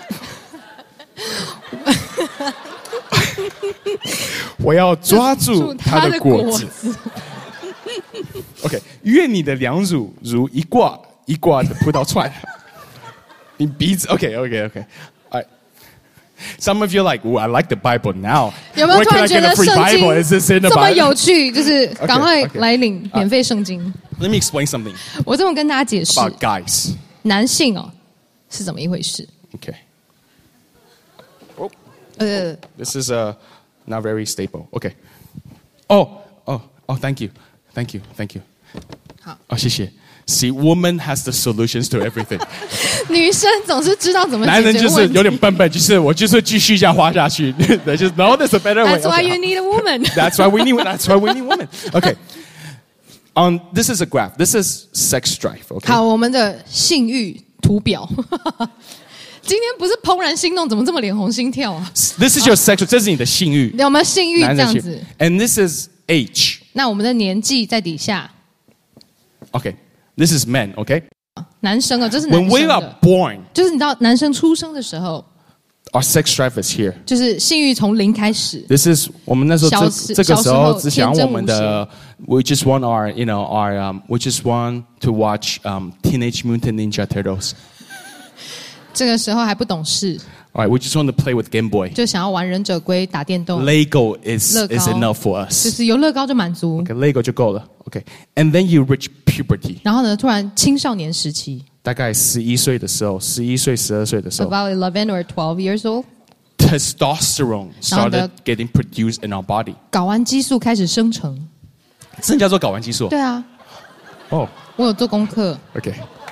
我要抓住它的果子。OK， 愿你的两乳如一挂一挂的葡萄串。你鼻子 OK OK OK。Some of you are like, oh, I like the Bible now. 有没有突然觉得圣经这么有趣？就是赶快来领免费圣经。 Let me explain something. 我这么跟大家解释 about guys. 男性哦是怎么一回事 ？Okay. Oh, 呃 this is uh not very stable. Okay. Oh, oh, oh, thank you, thank you, thank you. 好， 哦，谢谢。See, woman has the solutions to everything. 女生总是知道怎么解决男人就是问题有点笨笨，就是我就是继续这样花下去。就是 No, there's a better way. That's why you need a woman. That's why we need. That's why we need women. Okay. Um, this is a graph. This is sex drive. Okay. 好，我们的性欲图表。今天不是怦然心动，怎么这么脸红心跳啊 This is your sexual. 这是你的性欲。 有没有性欲这样子 ？And this is age. 那我们的年纪在底下。 Okay. This is men. Okay. 男生啊，这是男 When 生 we are 的， born, 就是你知道，男生出生的时候， our sex drive is here. 就是性欲从零开始。 This is 我们那时候这小时这个时候小时候只想我们天真的 we just want our you know our um, we just want to watch um, Teenage Mutant Ninja Turtles. 这个时候还不懂事， All right, we just want to play with Game Boy. 就想要玩忍者龟、打电动， Lego is 乐高 is enough for 就 us. 是有乐高就满足。 Okay, Lego 就够了。Okay, and then you reach puberty. 然后呢，突然青少年时期大概十一岁的时候，十一岁、十二岁的时候 ，about eleven or twelve years old， ，testosterone 然后呢 started getting produced in our body. 睾丸激素开始生成。 真叫做睾丸激素。 对啊， 哦， 我有做功课。 Okay.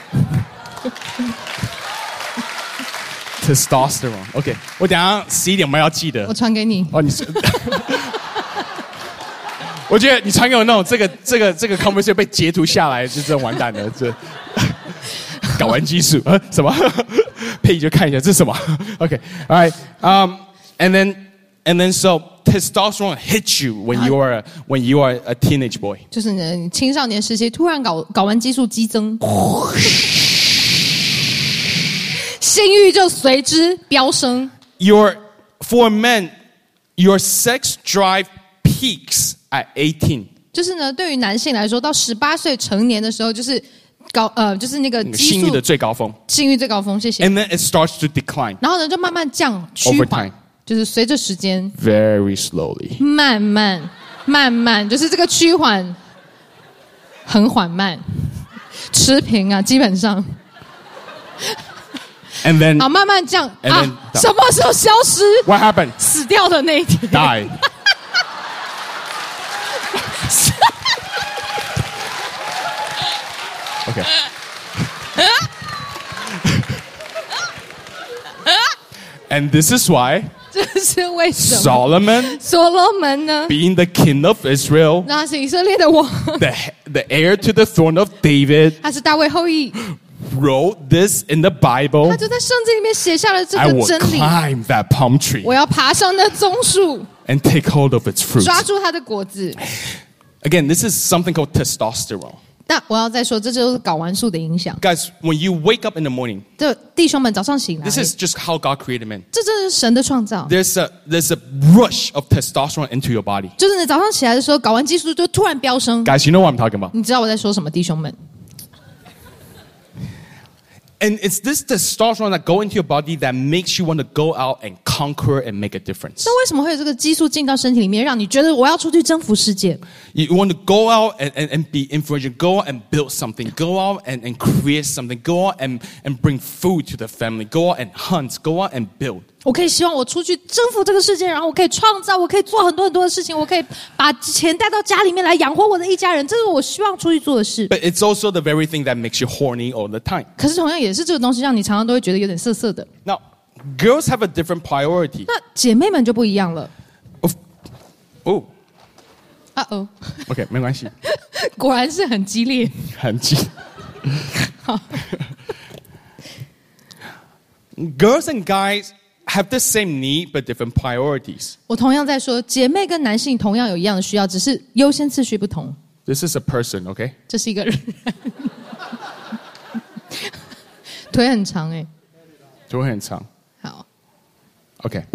Testosterone. OK， 我等一下十一点我们要记得我。传给你。 哦，你是，我觉得你传给我那种这个这个这个 conversation 被截图下来，就真完蛋了。这睾丸激素啊什么？佩仪就看一下这是什么 ？OK， all right， um, and then and then so testosterone hits you when you are a, when you are a teenage boy. 就是呢，你青少年时期突然睾睾丸激素激增，性欲就随之飙升。 Your for men, your sex drive peaks at eighteen. 就是呢，对于男性来说，到十八岁成年的时候，就是高呃，就是那个激素性欲的最高峰。 性欲最高峰。谢谢。 And then it starts to decline 然后呢，就慢慢降趋 over 缓 time.， 就是随着时间 very slowly. 慢慢慢慢，就是这个趋缓很缓慢，持平啊，基本上。 And then 好，慢慢降 And 啊 then-， 什么时候消失？ what happened? 死掉的那一天。 Die. Okay. And this is why 这是为什么？ Solomon, 所罗门呢？ being the king of Israel, 那是以色列的王， the, the heir to the throne of David, 他是大卫后裔， wrote this in the 他 Bible. 就在圣经里面写下了这 I 个 will 真理。 climb that palm tree 我要爬上那棕树， and take hold of its fruit. 抓住它的果子。 Again, this is something called testosterone. 那我要再说，这就是睾丸素的影响。 Guys, when you wake up in the morning, 这弟兄们早上醒来， this is just how God created men. 这真的是神的创造。 There's a there's a rush of testosterone into your body. 就是你早上起来的时候，睾丸激素就突然飙升。 Guys, you know what I'm talking about. 你知道我在说什么，弟兄们？ And it's this testosterone that go into your body that makes you want to go out and conquer and make a difference. 那为什么会有这个激素进到身体里面，让你觉得我要出去征服世界？ You want to go out and, and, and be influential, go out and build something, go out and, and create something, go out and, and bring food to the family, go out and hunt, go out and build. 我可以希望我出去征服这个世界，然后我可以创造，我可以做很多很多的事情，我可以把钱带到家里面来养活我的一家人，这是我希望出去做的事。 But it's also the very thing that makes you horny all the time. 可是同样也是这个东西，让你常常都会觉得有点涩涩的。 Now, girls have a different priority. 那姐妹们就不一样了。 Of, oh, 啊哦， okay, 没关系， 果然是很激烈。 很激。 好 girls and guys have the same need but different priorities. 我同样在说，姐妹跟男性同样有一样的需要，只是优先次序不同。 This is a person, okay? 这是一个人，腿很长哎。 腿很长。 好 Okay.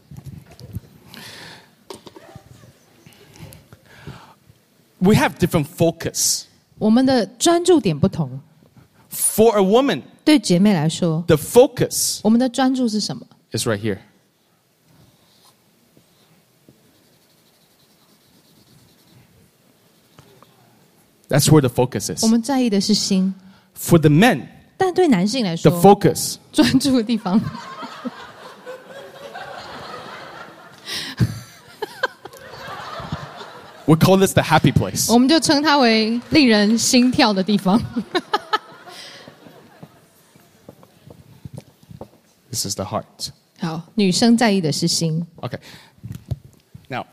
We have different focus. 我们的专注点不同。 For a woman, 对姐妹来说， the focus 我们的专注是什么？ is right here. That's where the focus 我 is. 们在意的是心， For the men, 但对男性来 the 说， focus 专注的地方， we call this the happy place. 我们就称它为令人心跳的地方。 This is the heart. 好，女生在意的是心。 Okay. Now,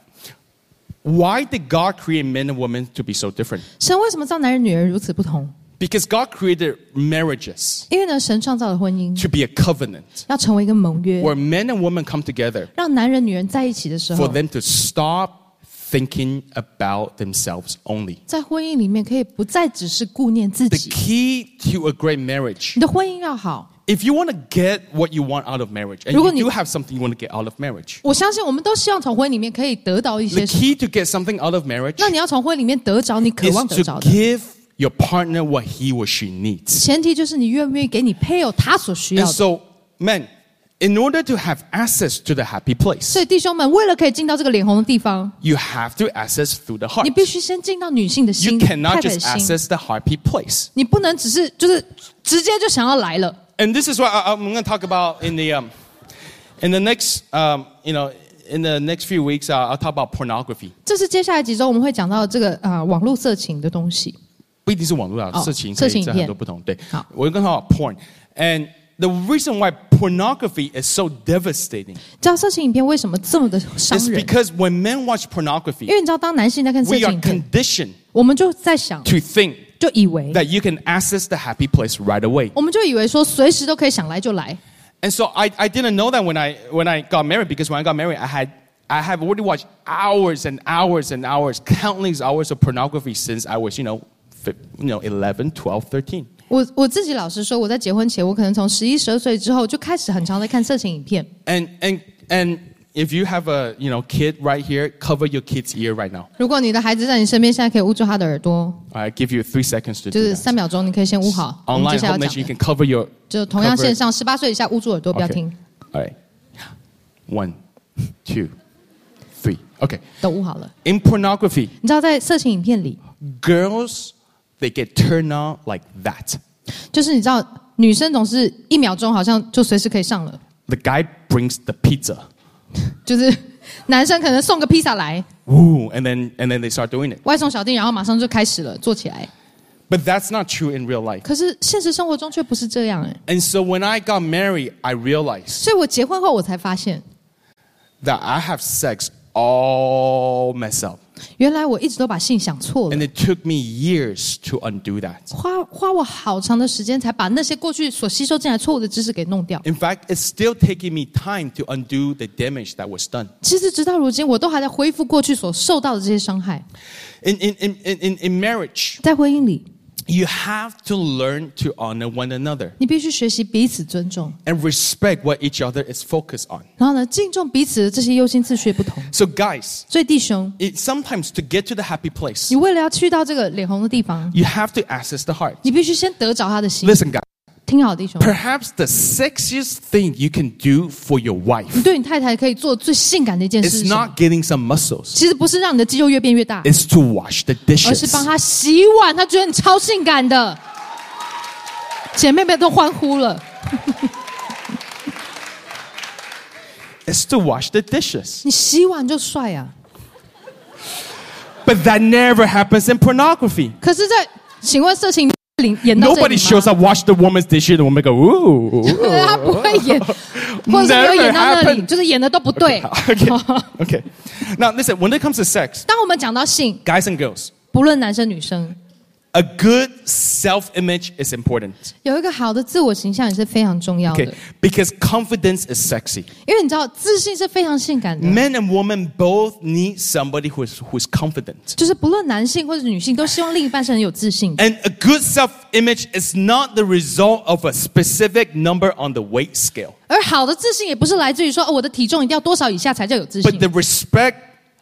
why did God create men and women to be so different? 神为什么造男人女人如此不同？ Because God created marriages 因为呢，神创造了婚姻， to be a covenant 要成为一个盟约， where men and women come together 让男人女人在一起的时 for 候， them to stop thinking about themselves only. 在婚姻里面可以不再只是顾念自 The 己。 key to a great marriage, 你的婚姻要好， if you want to get what you want out of marriage, and 如果 you 你- do have something you want to get out of marriage, 我相信我们都希望从婚姻里面可以得到一 the 些什么。 key to get something out of marriage 那你要从婚姻里面得着你渴 is 望得 to 着的， give your partner what he or she needs. 前提就是你愿不愿意给你配偶他所需要 And 的。 so, men, in order to have access to the happy place, 所以弟兄们，为了可以进到这个脸红的地方， you have to access through the heart. 你必须先进到女性的 You 心， cannot 太太的 just 心。 access the happy place. 你不能只是就是直接就想要来了。 And this is what I, I'm going to talk about in the um, in the next um, you know in the next few weeks. Uh, I'll talk about pornography. 这是接下来几周我们会讲到这个啊、呃、网络色情的东西。 不一定是网络啊， 哦， 色情色情影片。 可以在很多不同。对， 好。 我跟他讲 porn, and the reason why pornography is so devastating 知道色情影片为什么这么的伤 is 人？ because when men watch 因 pornography, 为你知道，当男性在看色 we 情 are 影片， conditioned 我们就在想， to think 就以为， that you can access the happy place right away. 我们就以为说随时都可以想来就来。 And so I, I didn't know that when I when I got married, because when I got married, I had I have already watched hours and hours and hours, countless hours of pornography since I was, you know, fi- you know, eleven, twelve, thirteen. 我我自己老实说，我在结婚前，我可能从十一、十二岁之后就开始很常在看色情影片。 And and and if you have a, you know, kid right here, cover your kid's ear right now. 如果你的孩子在你身边，现在可以捂住他的耳朵， I give you three seconds to 就 do 是 that. 三秒钟，你可以先捂好。我们接 Online 下来 home 要 nation, you 讲 can cover your 就同样 cover- 线上，十八岁以下捂住耳朵，不要 Okay. 听， All right. One, two, three. Okay. 都捂好了。 In pornography, 你知道，在色情影片里， girls they get turned on like that. 就是你知道，女生总是一秒钟好像就随时可以上了， The guy brings the pizza. 就是男生可能送个披萨来， Ooh, and then and then they start doing it. 外送小弟，然后马上就开始了，做起来。 But that's not true in real life. 可是现实生活中却不是这样哎， And so when I got married, I realized 所以我结婚后我才发现， that I have sex all messed up. 原来我一直都把性想错了 And。it took me years to undo that. 花花我好长的时间才把那些过去所吸收进来错误的知识给弄掉。 In fact, it's still taking me time to undo the damage that was done. 其实直到如今，我都还在恢复过去所受到的这些伤害。 In, in, in, in, in marriage, 在婚姻里， you have to learn to honor one another 你必须学习彼此尊重， and respect what each other is focused on. 然后呢，敬重彼此的这些优先次序不同。 So guys, 所以弟兄， it, sometimes to get to the happy place, 你为了要去到这个脸红的地方， you have to access the heart. 你必须先得着他的心。 Listen, guys, 听好，弟兄， perhaps the sexiest thing you can do for your 你 wife 对你太太可以做最性感的一件事 is 是什么？ not getting some muscles, 其实不是让你的肌肉越变越大， it's to wash the 而是 dishes. 帮她洗碗。她觉得你超性感的，姐妹们都欢呼了。 It's to wash the dishes. 你洗碗就帅啊！ But that never happens in pornography. 可是在，请问色情里演到这 Nobody 里 shows 吗？ up, wash the woman's dishes, and the woman go, ooh. 他不会演，或者是没有演到那 Never 里， happened. 就是演的都不对。 Okay. Okay. Now, listen, when it comes to sex, 当我们讲到性， guys and girls, 不论男生女生， A good self-image is important. 有一个好的自我形象也是非常重要的。 Okay, because confidence is sexy. 因为你知道，自信是非常性感的。 Men and women both need somebody who is who is confident. 就是不论男性或者女性，都希望另一半是很有自信的。 And a good self-image is not the result of a specific number on the weight scale. 而好的自信也不是来自于说，哦，我的体重一定要多少以下才叫有自信。 But the respect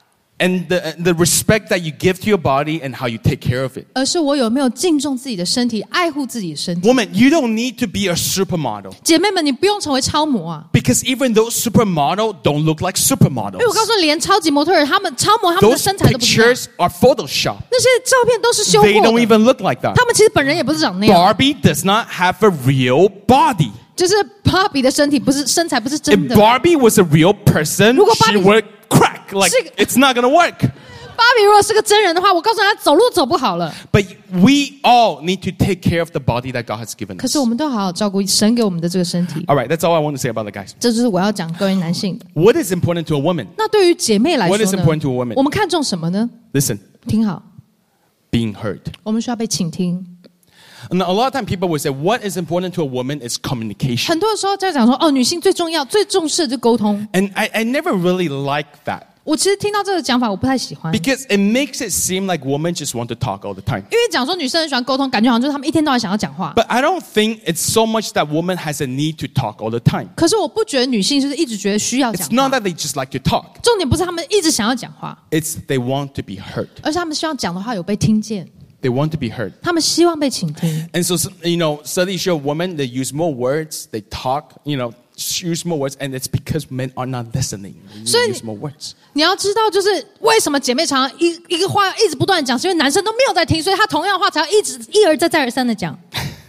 and the, the respect that you give to your body and how you take care of it. 而是我有没有敬重自己的身体，爱护自己的身体。 Woman, you don't need to be a supermodel. 姐妹们，你不用成为超模啊。 Because even those supermodel don't look like 因为我 supermodels. 告诉你，连超级模特儿，他们超模他们的 Those 身材都不一样， pictures are Photoshop. 那些照片都是修 They 过 don't 的。 even look like that. 他们其实本人也不是长那样， Barbie does not have a real body. 就是芭比的身体不是身材不是真 If 的。 Barbie was a real person, 如果 she Barbie- would crack. Like, 是个- it's not going to work. 芭比如果是个真人的话，我告诉他走路走不好了。 But we all need to take care of the body that God has given 可 us. 是我们都好好照顾神给我们的这个身体。 All right, that's all I want to say about the guys. 这就是我要讲关于男性的。 What is important to a woman? 那对于姐妹来说 What is 呢 important to a woman? 我们看重什么呢？ Listen, 听好， being heard. 我们需要被倾听。 And a lot of time people will say, what is important to a woman is communication. 很多的时候在讲说，哦，女性最重要、最重视的就是沟通。 And I, I never really like that. 我其实听到这个讲法，我不太喜欢，因 Because it makes it seem like women just want to talk all the time. 为讲说女生很喜欢沟通，感觉好像就是她们一天到晚想要讲话。 But I don't think it's so much that woman has a need to talk all the time. 可是我不觉得女性就是一直觉得需要讲 It's not 话。 that they just like to talk. 重点不是她们一直想要讲话， It's they want to be heard. 而是她们希望讲的话有被听见， They want to be heard. 她们希望被倾听。 And so, you know, studies show women, they use more words, they talk, you know, use more words, and it's because men are not listening. They So- use more words. 你要知道，就是为什么姐妹常常一一个话一直不断地讲，是因为男生都没有在听，所以他同样的话才要一直一而再再而三的讲。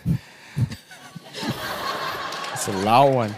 It's a loud one.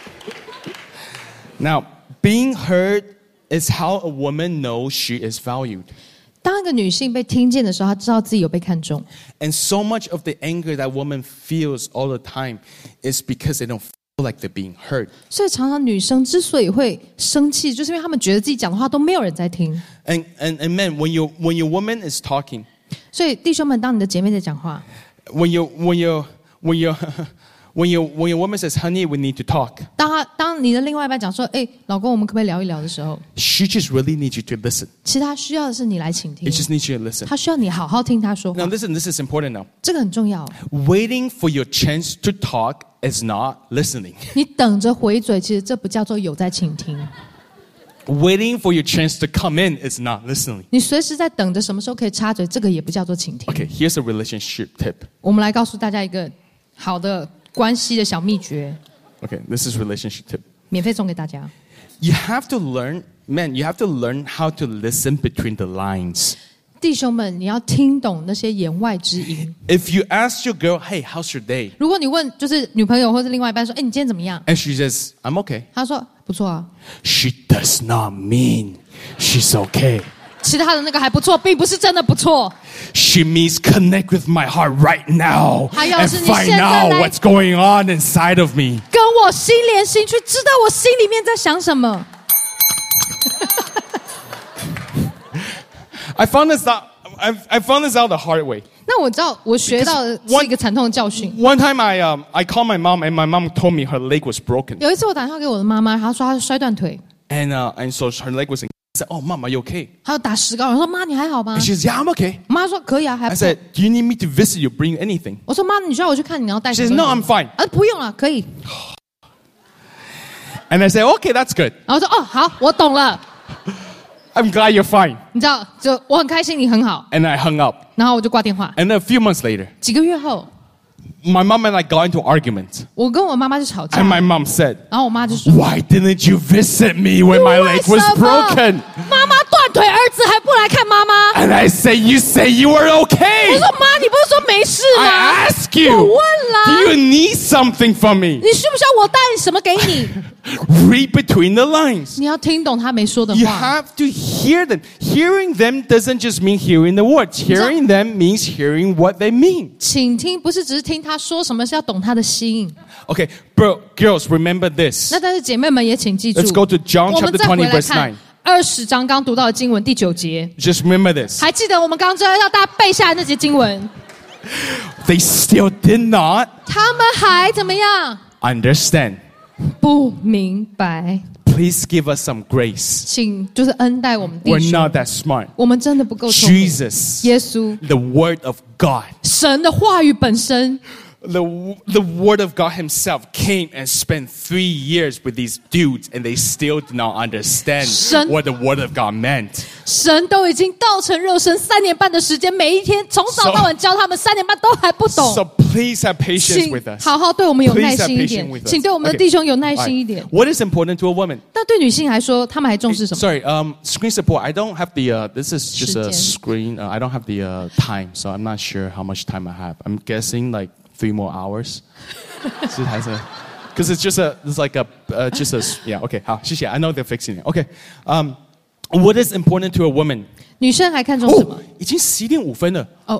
Now, being heard is how a woman knows she is valued. 当一个女性被听见的时候，她知道自己有被看重。 And so much of the anger that woman feels all the time is because they don't feel like they're being heard. 所以常常女生之所以会生气，就是因为她们觉得自己讲的话都没有人在听。 And, and, and men, when, you, when your woman is talking, 所以弟兄们，当你的姐妹在讲话， when, you, when, you, when, you, when, you, when your woman says, honey, we need to talk, 当她当你的另外一半讲说：“哎，老公，我们可不可以聊一聊？”的时候， she just really needs you to listen. 其实她需要的是你来倾听 It，just needs you to listen. 她需要你好好听她说话 Now,。listen, this is important now. 这个很重要。 Waiting for your chance to talk is not listening. 你等着回嘴，其实这不叫做有在倾听。 Waiting for your chance to come in is not listening. 你随时在等着什么时候可以插嘴，这个也不叫做倾听。 Okay, here's a relationship tip. 我们来告诉大家一个好的关系的小秘诀， Okay, this is relationship tip. 免费送给大家。 You have to learn, man, you have to learn how to listen between the lines. 弟兄们，你要听懂那些言外之音。 If you ask your girl, hey, how's your day? 如果你问就是女朋友或者另外一半说：“哎，你今天怎么样 And she says, I'm okay. ？” 他说：“不错啊。 She does not mean she's okay. ” 其实他的那个还不错，并不是真的不错。 She means connect with my heart right now 还有 and 是你 find 现在 out 来- what's going on inside of me. 跟我心连心，去知道我心里面在想什么。 I found this out, I, I found this out the hard way. 那我知道，我学到的 Because one- 是一个惨痛的教训。 One time I, um, I called my mom and my mom told me her leg was broken. 有一次我打电话给我的妈妈，她说她摔断腿， And, uh, and so her leg was in. I said, oh, mom, are you okay? 她有打石膏。我说：“妈，你还好吗 And she says, yeah, I'm okay. ？” 我妈说：“可以啊，还 I 不错。” said, do you need me to visit you, bring you anything? 我说：“妈，你需要我去看你，然后带 She 什 says, 么 no, 东 I'm 西 fine. 啊，不用了，可以。 And I said, okay, that's good. 然后我说：“哦，好，我懂了。 I'm glad you're fine. ” 你知道，就我很开心，你很好。 And I hung up. 然后我就挂电话。 And then a few months later, 几个月后， my mom and I got into an argument. 我跟我妈妈就吵架 And，my mom said, 然后我妈就说 why didn't you visit me when my leg was 为什么 broken? 妈妈断腿，儿子还不来看妈妈。 And I say, you say you were 我 okay. 说妈，你不是说没事吗？ I ask 我 you, 问 do 啦， you need something from me? 你需不需要我带什么给你？ Read between the lines. 你要听懂他没说的 You 话。 have to hear them. Hearing them doesn't just mean hearing the words. Hearing them means hearing what they mean. 请听不是只是听他说什么，是要懂他的心。 Okay, bro, girls, remember this. 那但是姐妹们也请记住 Let's go to John 我们 chapter 再回 twenty, 来 verse 看 nine. 二十章刚读到的经文第九节， Just remember this. 还记得我们刚刚知道要大家背下来那节经文。 They still did not 他们还怎么样？ understand. 不明白。 Please give us some grace. 请就是恩待我们弟 We're 兄。 not that smart. 我们真的不够聪明。 Jesus, 耶稣， the Word of God, 神的话语本身， the, the Word of God himself came and spent three years with these dudes and they still did not understand 神- what the Word of God meant. 神都已经道成肉身三年半的时间，每一天从早到晚教他们，三年半都还不懂。 So please have patience 请 with us. 好好对我们有 Please 耐 have 心一 patience 点 with，us. 请对我们的 Okay. 弟兄有耐 All 心一 right. 点。 What is important to a woman? 但对女性来说，她们还重视什么？ Sorry, um, screen support. I don't have the. Uh, this is just a 时间。 screen. Uh, I don't have the uh, time, so I'm not sure how much time I have. I'm guessing like three more hours. Because it's just a. It's like a. Uh, just a. Yeah. Okay. 好，谢谢. I know they're fixing it. Okay. Um, what is important to a woman? 女生还看重什么？ 哦，已经十点五分了。 哦，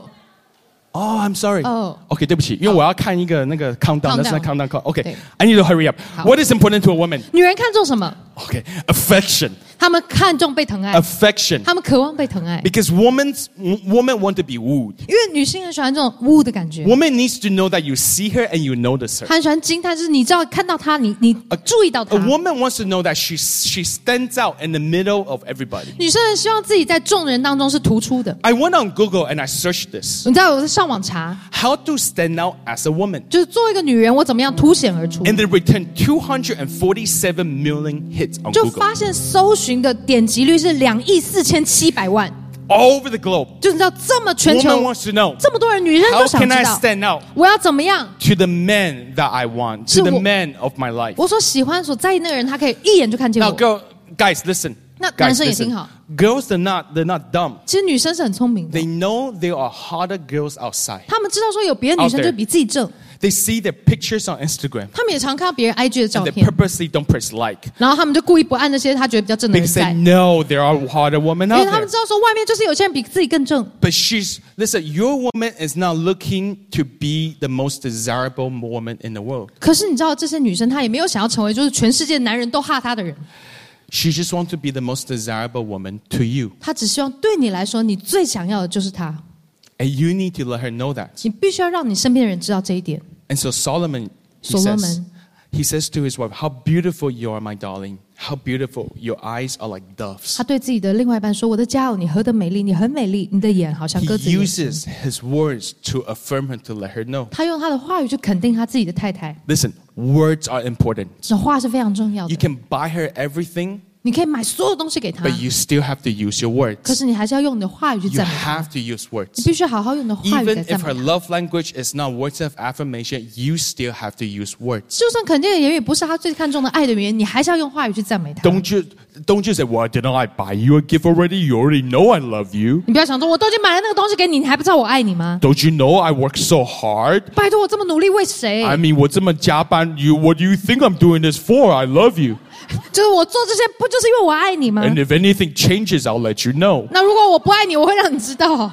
Oh, I'm sorry. Oh. Okay, 对不起，因为我要看一个那个 countdown. That's not Countdown. countdown. Okay, 对。 I need to hurry up. 好。 What is important to a woman? 女人看重什么？ Okay, affection. 她们看重被疼爱， Affection. 她们渴望被疼爱， Because women's, women want to be wooed. 因为女性很喜欢这种呜的感觉。 Woman needs to know that you see her and you notice her. 她很喜欢惊叹，就是你知道看到她，你你注意到 A 她。 woman wants to know that she she stands out in the middle of everybody. 女生很希望自己在众人当中是突出的。 I went on Google and I searched this. 你知道我在上网查， How to stand out as a woman. 就是作为一个女人，我怎么样凸显而出？ And they returned two hundred forty-seven million hits on 就 Google. 发现搜寻的点击率是两亿四千七百万， All over the globe. 就你知道这么全 Woman 球 wants to know. 这么多人，女人 How 都想 can 知 I 道 stand out 我要怎么样？ to the men that I want, 是 to the 我- men of my life? 我所喜欢、所在意那个人，他可以一眼就看见 Now, 我。 girl, guys, listen. 那 Guys, 男生也 listen. 挺好。 Girls, they're not, they're not dumb. 其实女生是很聪明的 They，know there are hotter girls outside. 她们知道说有别的女生 Out there 就比自己正， They see their pictures on Instagram 她们也常看到别人 I G 的照 and they 片， purposely don't press like 然后她们就故意不按那些她觉得比较正的人 because they 在，因 know there are hotter women 为 out 她们 there. 知道说外面就是有些人比自己更正。 But she's, listen, your woman is not looking to be the most desirable woman in the world. 可是你知道这些女生她也没有想要成为就是全世界男人都哈她的人， She just wants to be the most desirable woman to you. 她只希望对你来说你最想要的就是她， And you need to let her know that. 你必须要让你身边的人知道这一点。 And so Solomon, he Solomon. says, he says to his wife, how beautiful you are, my darling. How beautiful. Your eyes are like doves. 他对自己的另外一半说：“我的佳偶，你何等美丽！你很美丽，你的眼好像 He 鸽子眼。” uses his words to affirm her, to let her know. 他用他的话语去肯定他自己的太太， Listen, words are important. 这话是非常重要 You 的。 can buy her everything, 你可以买所有东西给他， but you still have to use your 可 words. 是你还是要用你的话语去 You 赞美他。 have to use 你 words. 必须好好用你的话语来 Even 赞 if 美 her 他。 love language is not words of affirmation, you still have to use words. 就算肯定的言语不是他最看重的爱的语言，你还是要用话语去赞美他。 Don't you, don't you say, well, didn't I buy you a gift already? You already know I love you. 你不要想说，我都已经买了那个东西给你，你还不知道我爱你吗？ Don't you know I work so hard? 拜托，我这么努力为谁？ I mean, 我这么加班, you, what do you think I'm doing this for? I love you. 就是我做这些，不就是因为我爱你吗？ And if anything changes, I'll let you know. 那如果我不爱你，我会让你知道。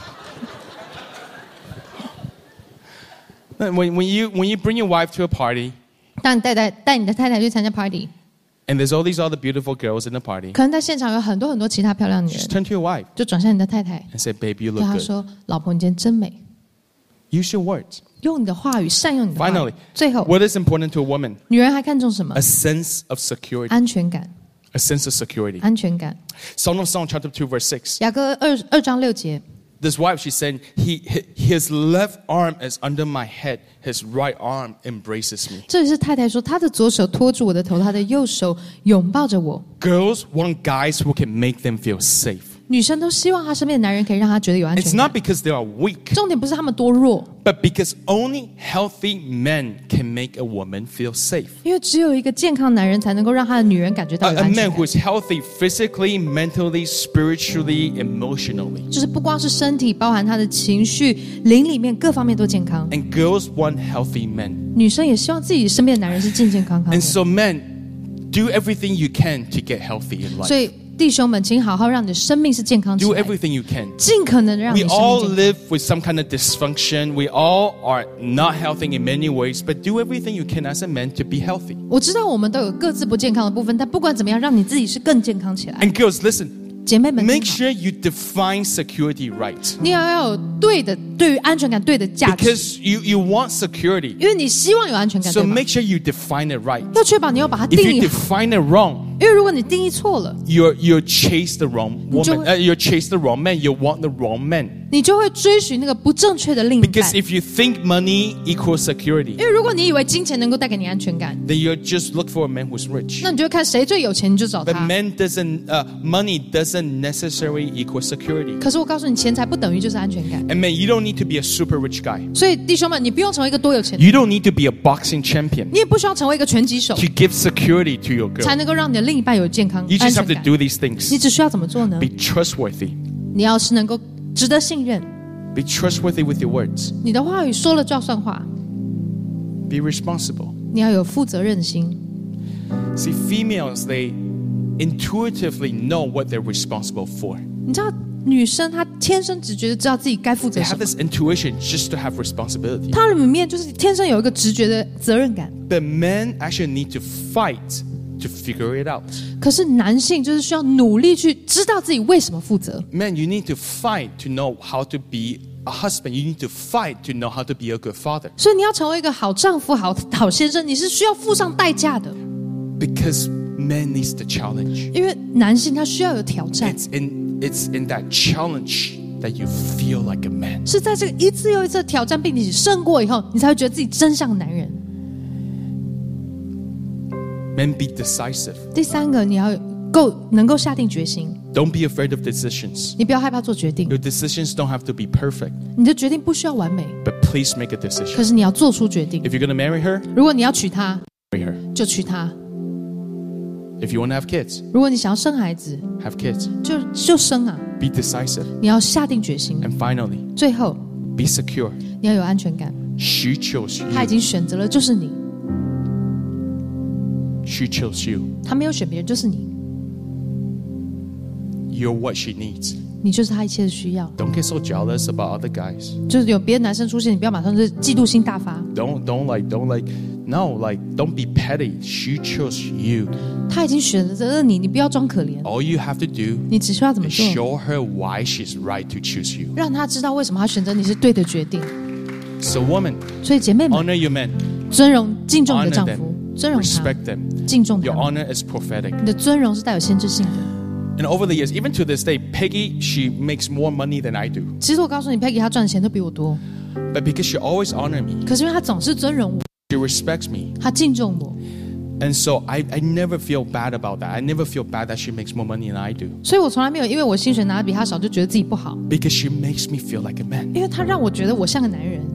When, when, you, when you bring your wife to a party, 当你带带带你的太太去参加 party， and there's all these other beautiful girls in the party, 可能在现场有很多很多其他漂亮女 just 人， turn to your wife 就转向你的太太， and say, baby, you 对 look 她 good. 说：“老婆，你今天真美。” Use your words. 用你的话语，善用你的话语 Finally,。 最后， what is important to a woman? 女人还看重什么 A？sense of security. 安全感， A sense of security. 安全感。 Song of Song, chapter two, verse six. 雅歌二二章六节， This wife, she said, he, his left arm is under my head. His right arm embraces me. 这里是太太说，她的左手托住我的头，她的右手拥抱着我。 Girls want guys who can make them feel safe. 女生都希望她身边的男人可以让她觉得有安 It's 全 not 感。 because they are weak, 重点不是他们多弱， but because only healthy men can make a woman feel safe. 因为只有一个健康男人才能够让他的女人感觉到 A, 有 a 安全 man 感 who。is healthy physically, mentally, spiritually, emotionally. 就是不光是身体，包含他的情绪、灵里面各方面都健康。 And girls want healthy men. 女生也希望自己身边的男人是健健康康 And 的。 so men, do everything you can to get healthy in 所 life. 以弟兄们，请好好让你的生命是健康起 Do 来的， everything you can. 尽可能的让你 We 生 all 命健康。 live with some kind of dysfunction. We all are not healthy in many ways, but do everything you can as a man to be healthy. 我知道我们都有各自不健康的部分，但不管怎么样，让你自己是更健康起来。 And girls, listen, 姐妹们听 make 好， sure you define security right. 你要要有对的对于安全感对的价值， Because you, you want security. 因为你希望有安全感， So 对吗？ make sure you define it right. 要确保你要把它 If 定 you 义好， define it wrong, 因为如果你定义错了， you're you chase the wrong 你就 woman. Uh, you chase the wrong man. You want the wrong man. 你就会追寻那个不正确的另一半。 Because if you think money equals security, 因为如果你以为金钱能够带给你安全感， then you just look for a man who's rich. 那你就会看谁最有钱，你就找 But 他。 man doesn't, uh, money doesn't necessarily equal security. 可是我告诉你，钱财不等于就是安全感。 And man, you don't need to be a super rich guy. 所以弟兄们，你不用成为一个多有钱的人， You don't need to be a boxing champion 你也不需要成为一个拳击手， to give security to your 才 girl. 能够让你的另一半有健康 You 安 just 全 have to 感。 do these 你 things. 只需要怎么做呢？ Be trustworthy. 你要是能够值得信任， Be trustworthy with your words. 你的话语说了就要算话， Be responsible. 你要有负责任心。 See, females, they intuitively know what they're responsible for. 你知道，女生她天生只觉得知道自己该负 They 责 have 什么， this intuition just to have responsibility. 她里面就是天生有一个直觉的责任感。 But men actually need to fight to figure it out. 可是男性就是需要努力去知道自己为什么负责。 Men, you need to fight to know how to be a husband. You need to fight to know how to be a good father. 所以你要成为一个好丈夫、好好先生，你是需要付上代价的。 Because men needs the challenge. 因为男性他需要有挑战， It's in it's in that challenge that you feel like a man. 是在这个一次又一次的挑战，并且胜过以后，你才会觉得自己真像男人。 Men, be decisive. 第三个，你要够能够下定决心， Don't be afraid of decisions. 你不要害怕做决定。 Your decisions don't have to be perfect, 你的决定不需要完美， but please make a 可 decision. 是你要做出决定。 If you're going to marry her, 如果你要娶她， marry her. 就娶她； If you want to have kids, 如果你想要生孩子， have kids. 就就生啊！ Be decisive. 你要下定决心。 And finally, 最后， be secure. 你要有安全感。 She chose 他已 you. 经选择了，就是你； She chose you. 他没有选别人，就是你。 You're what she needs. 你就是他一切的需要。 Don't get so jealous about other guys. 就是有别的男生出现，你不要马上就是嫉妒心大发。 Don't don't like don't like no like don't be petty. She chose you. 他已经选择了你，你不要装可怜。 All you have to do 你只需要怎么 is 做？ show her why she's right to choose you. 让他知道为什么他选择你是对的决定。 So woman, 所以姐妹们， honor your men. 尊荣、敬重你的 Honor 丈 them. 夫，尊荣他， Respect them. 敬重 Your 他们。 honor is prophetic. 你的尊荣是带有先知性的。 And over the years, even to this day, Peggy, she makes more money than I do. 其实我告诉你 ，Peggy 她赚的钱都比我多， But because she always honor me, 可是因为她总是尊荣我， she respects me. 她敬重我， And so I, I never feel bad about that. I never feel bad that she makes more money than I do. 所以我从来没有因为我薪水拿的比她少就觉得自己不好， Because she makes me feel like a man. 因为她让我觉得我像个男人。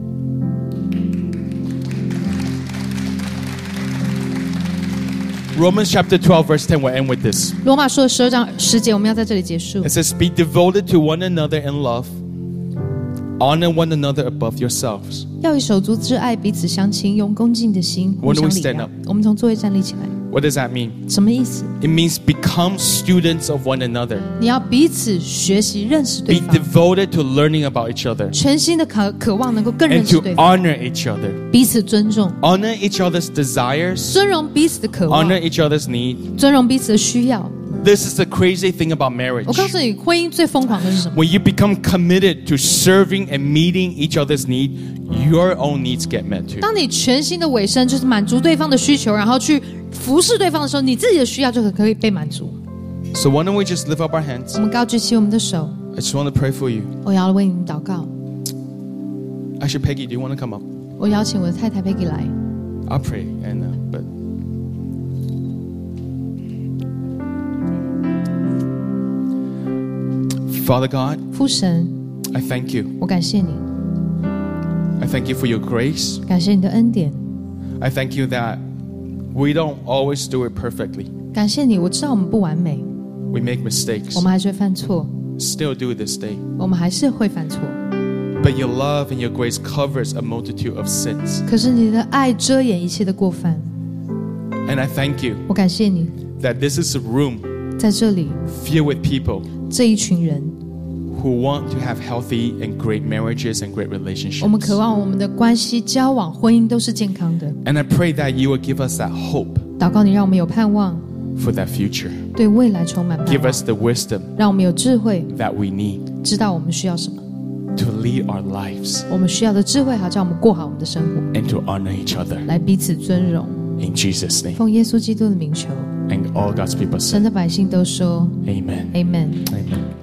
Romans chapter twelve, verse ten, we'll end with this. 罗马书的十二章十节，我们要在这里结束 It。says, be devoted to one another in love. Honor one another above yourselves. 要以手足之爱彼此相亲，用恭敬的心互 When do 相 we 礼 stand 让 up?。 我们从座位站立起来， What does that mean? 什么意思？ It means become students of one another. 你要彼此学习，认识对 Be 方， devoted to learning about each other. 全心的渴渴望能够更认 And 识 to 对方， honor each other. 彼此尊重， Honor each other's desires. 尊荣彼此的渴望， Honor each other's need. 尊荣彼此的需要。 This is the crazy thing about marriage. 我告诉你，婚姻最疯狂的是什么？ When you become committed to serving and meeting each other's need, your own needs get met too. 当你全心的委身，就是满足对方的需求，然后去服侍对方的时候，你自己的需要就可以被满足。 So why don't we just lift up our hands? 我们高举起我们的手， I just want to pray for you. 我要为你们祷告。 Actually, Peggy, do you want to come up? 我邀请我的太太 Peggy 来。 I'll pray, and uh, but Father God, 父神， I thank you. 我感谢你， I thank you for your grace. 感谢你的恩典， I thank you that we don't always do it perfectly. 感谢你。我知道我们不完美， We make mistakes. 我们还是会犯错， Still do this day. 我们还是会犯错。 But your love and your grace covers a multitude of sins. 可是你的爱遮掩一切的过犯， And I thank you 我感谢你， that this is a room 在这里 filled with people 这一群人， who want to have healthy and great marriages and great 我们渴 relationships. 望我们的关系、交往、婚姻都是健康的。 And I pray that you will give us that hope 祷告你，让我们有盼望， for that future. 对未来充满盼 Give 望， us the wisdom 让我们有智慧， that we need 知道我们需要什么。 to lead our lives 我们需要的智慧，好叫我们过好我们的生活， and to honor each other. 来彼此尊荣。 In Jesus' name. 奉耶稣基督的名求， And all God's people 神 say, 的百姓都说 Amen. Amen。 Amen.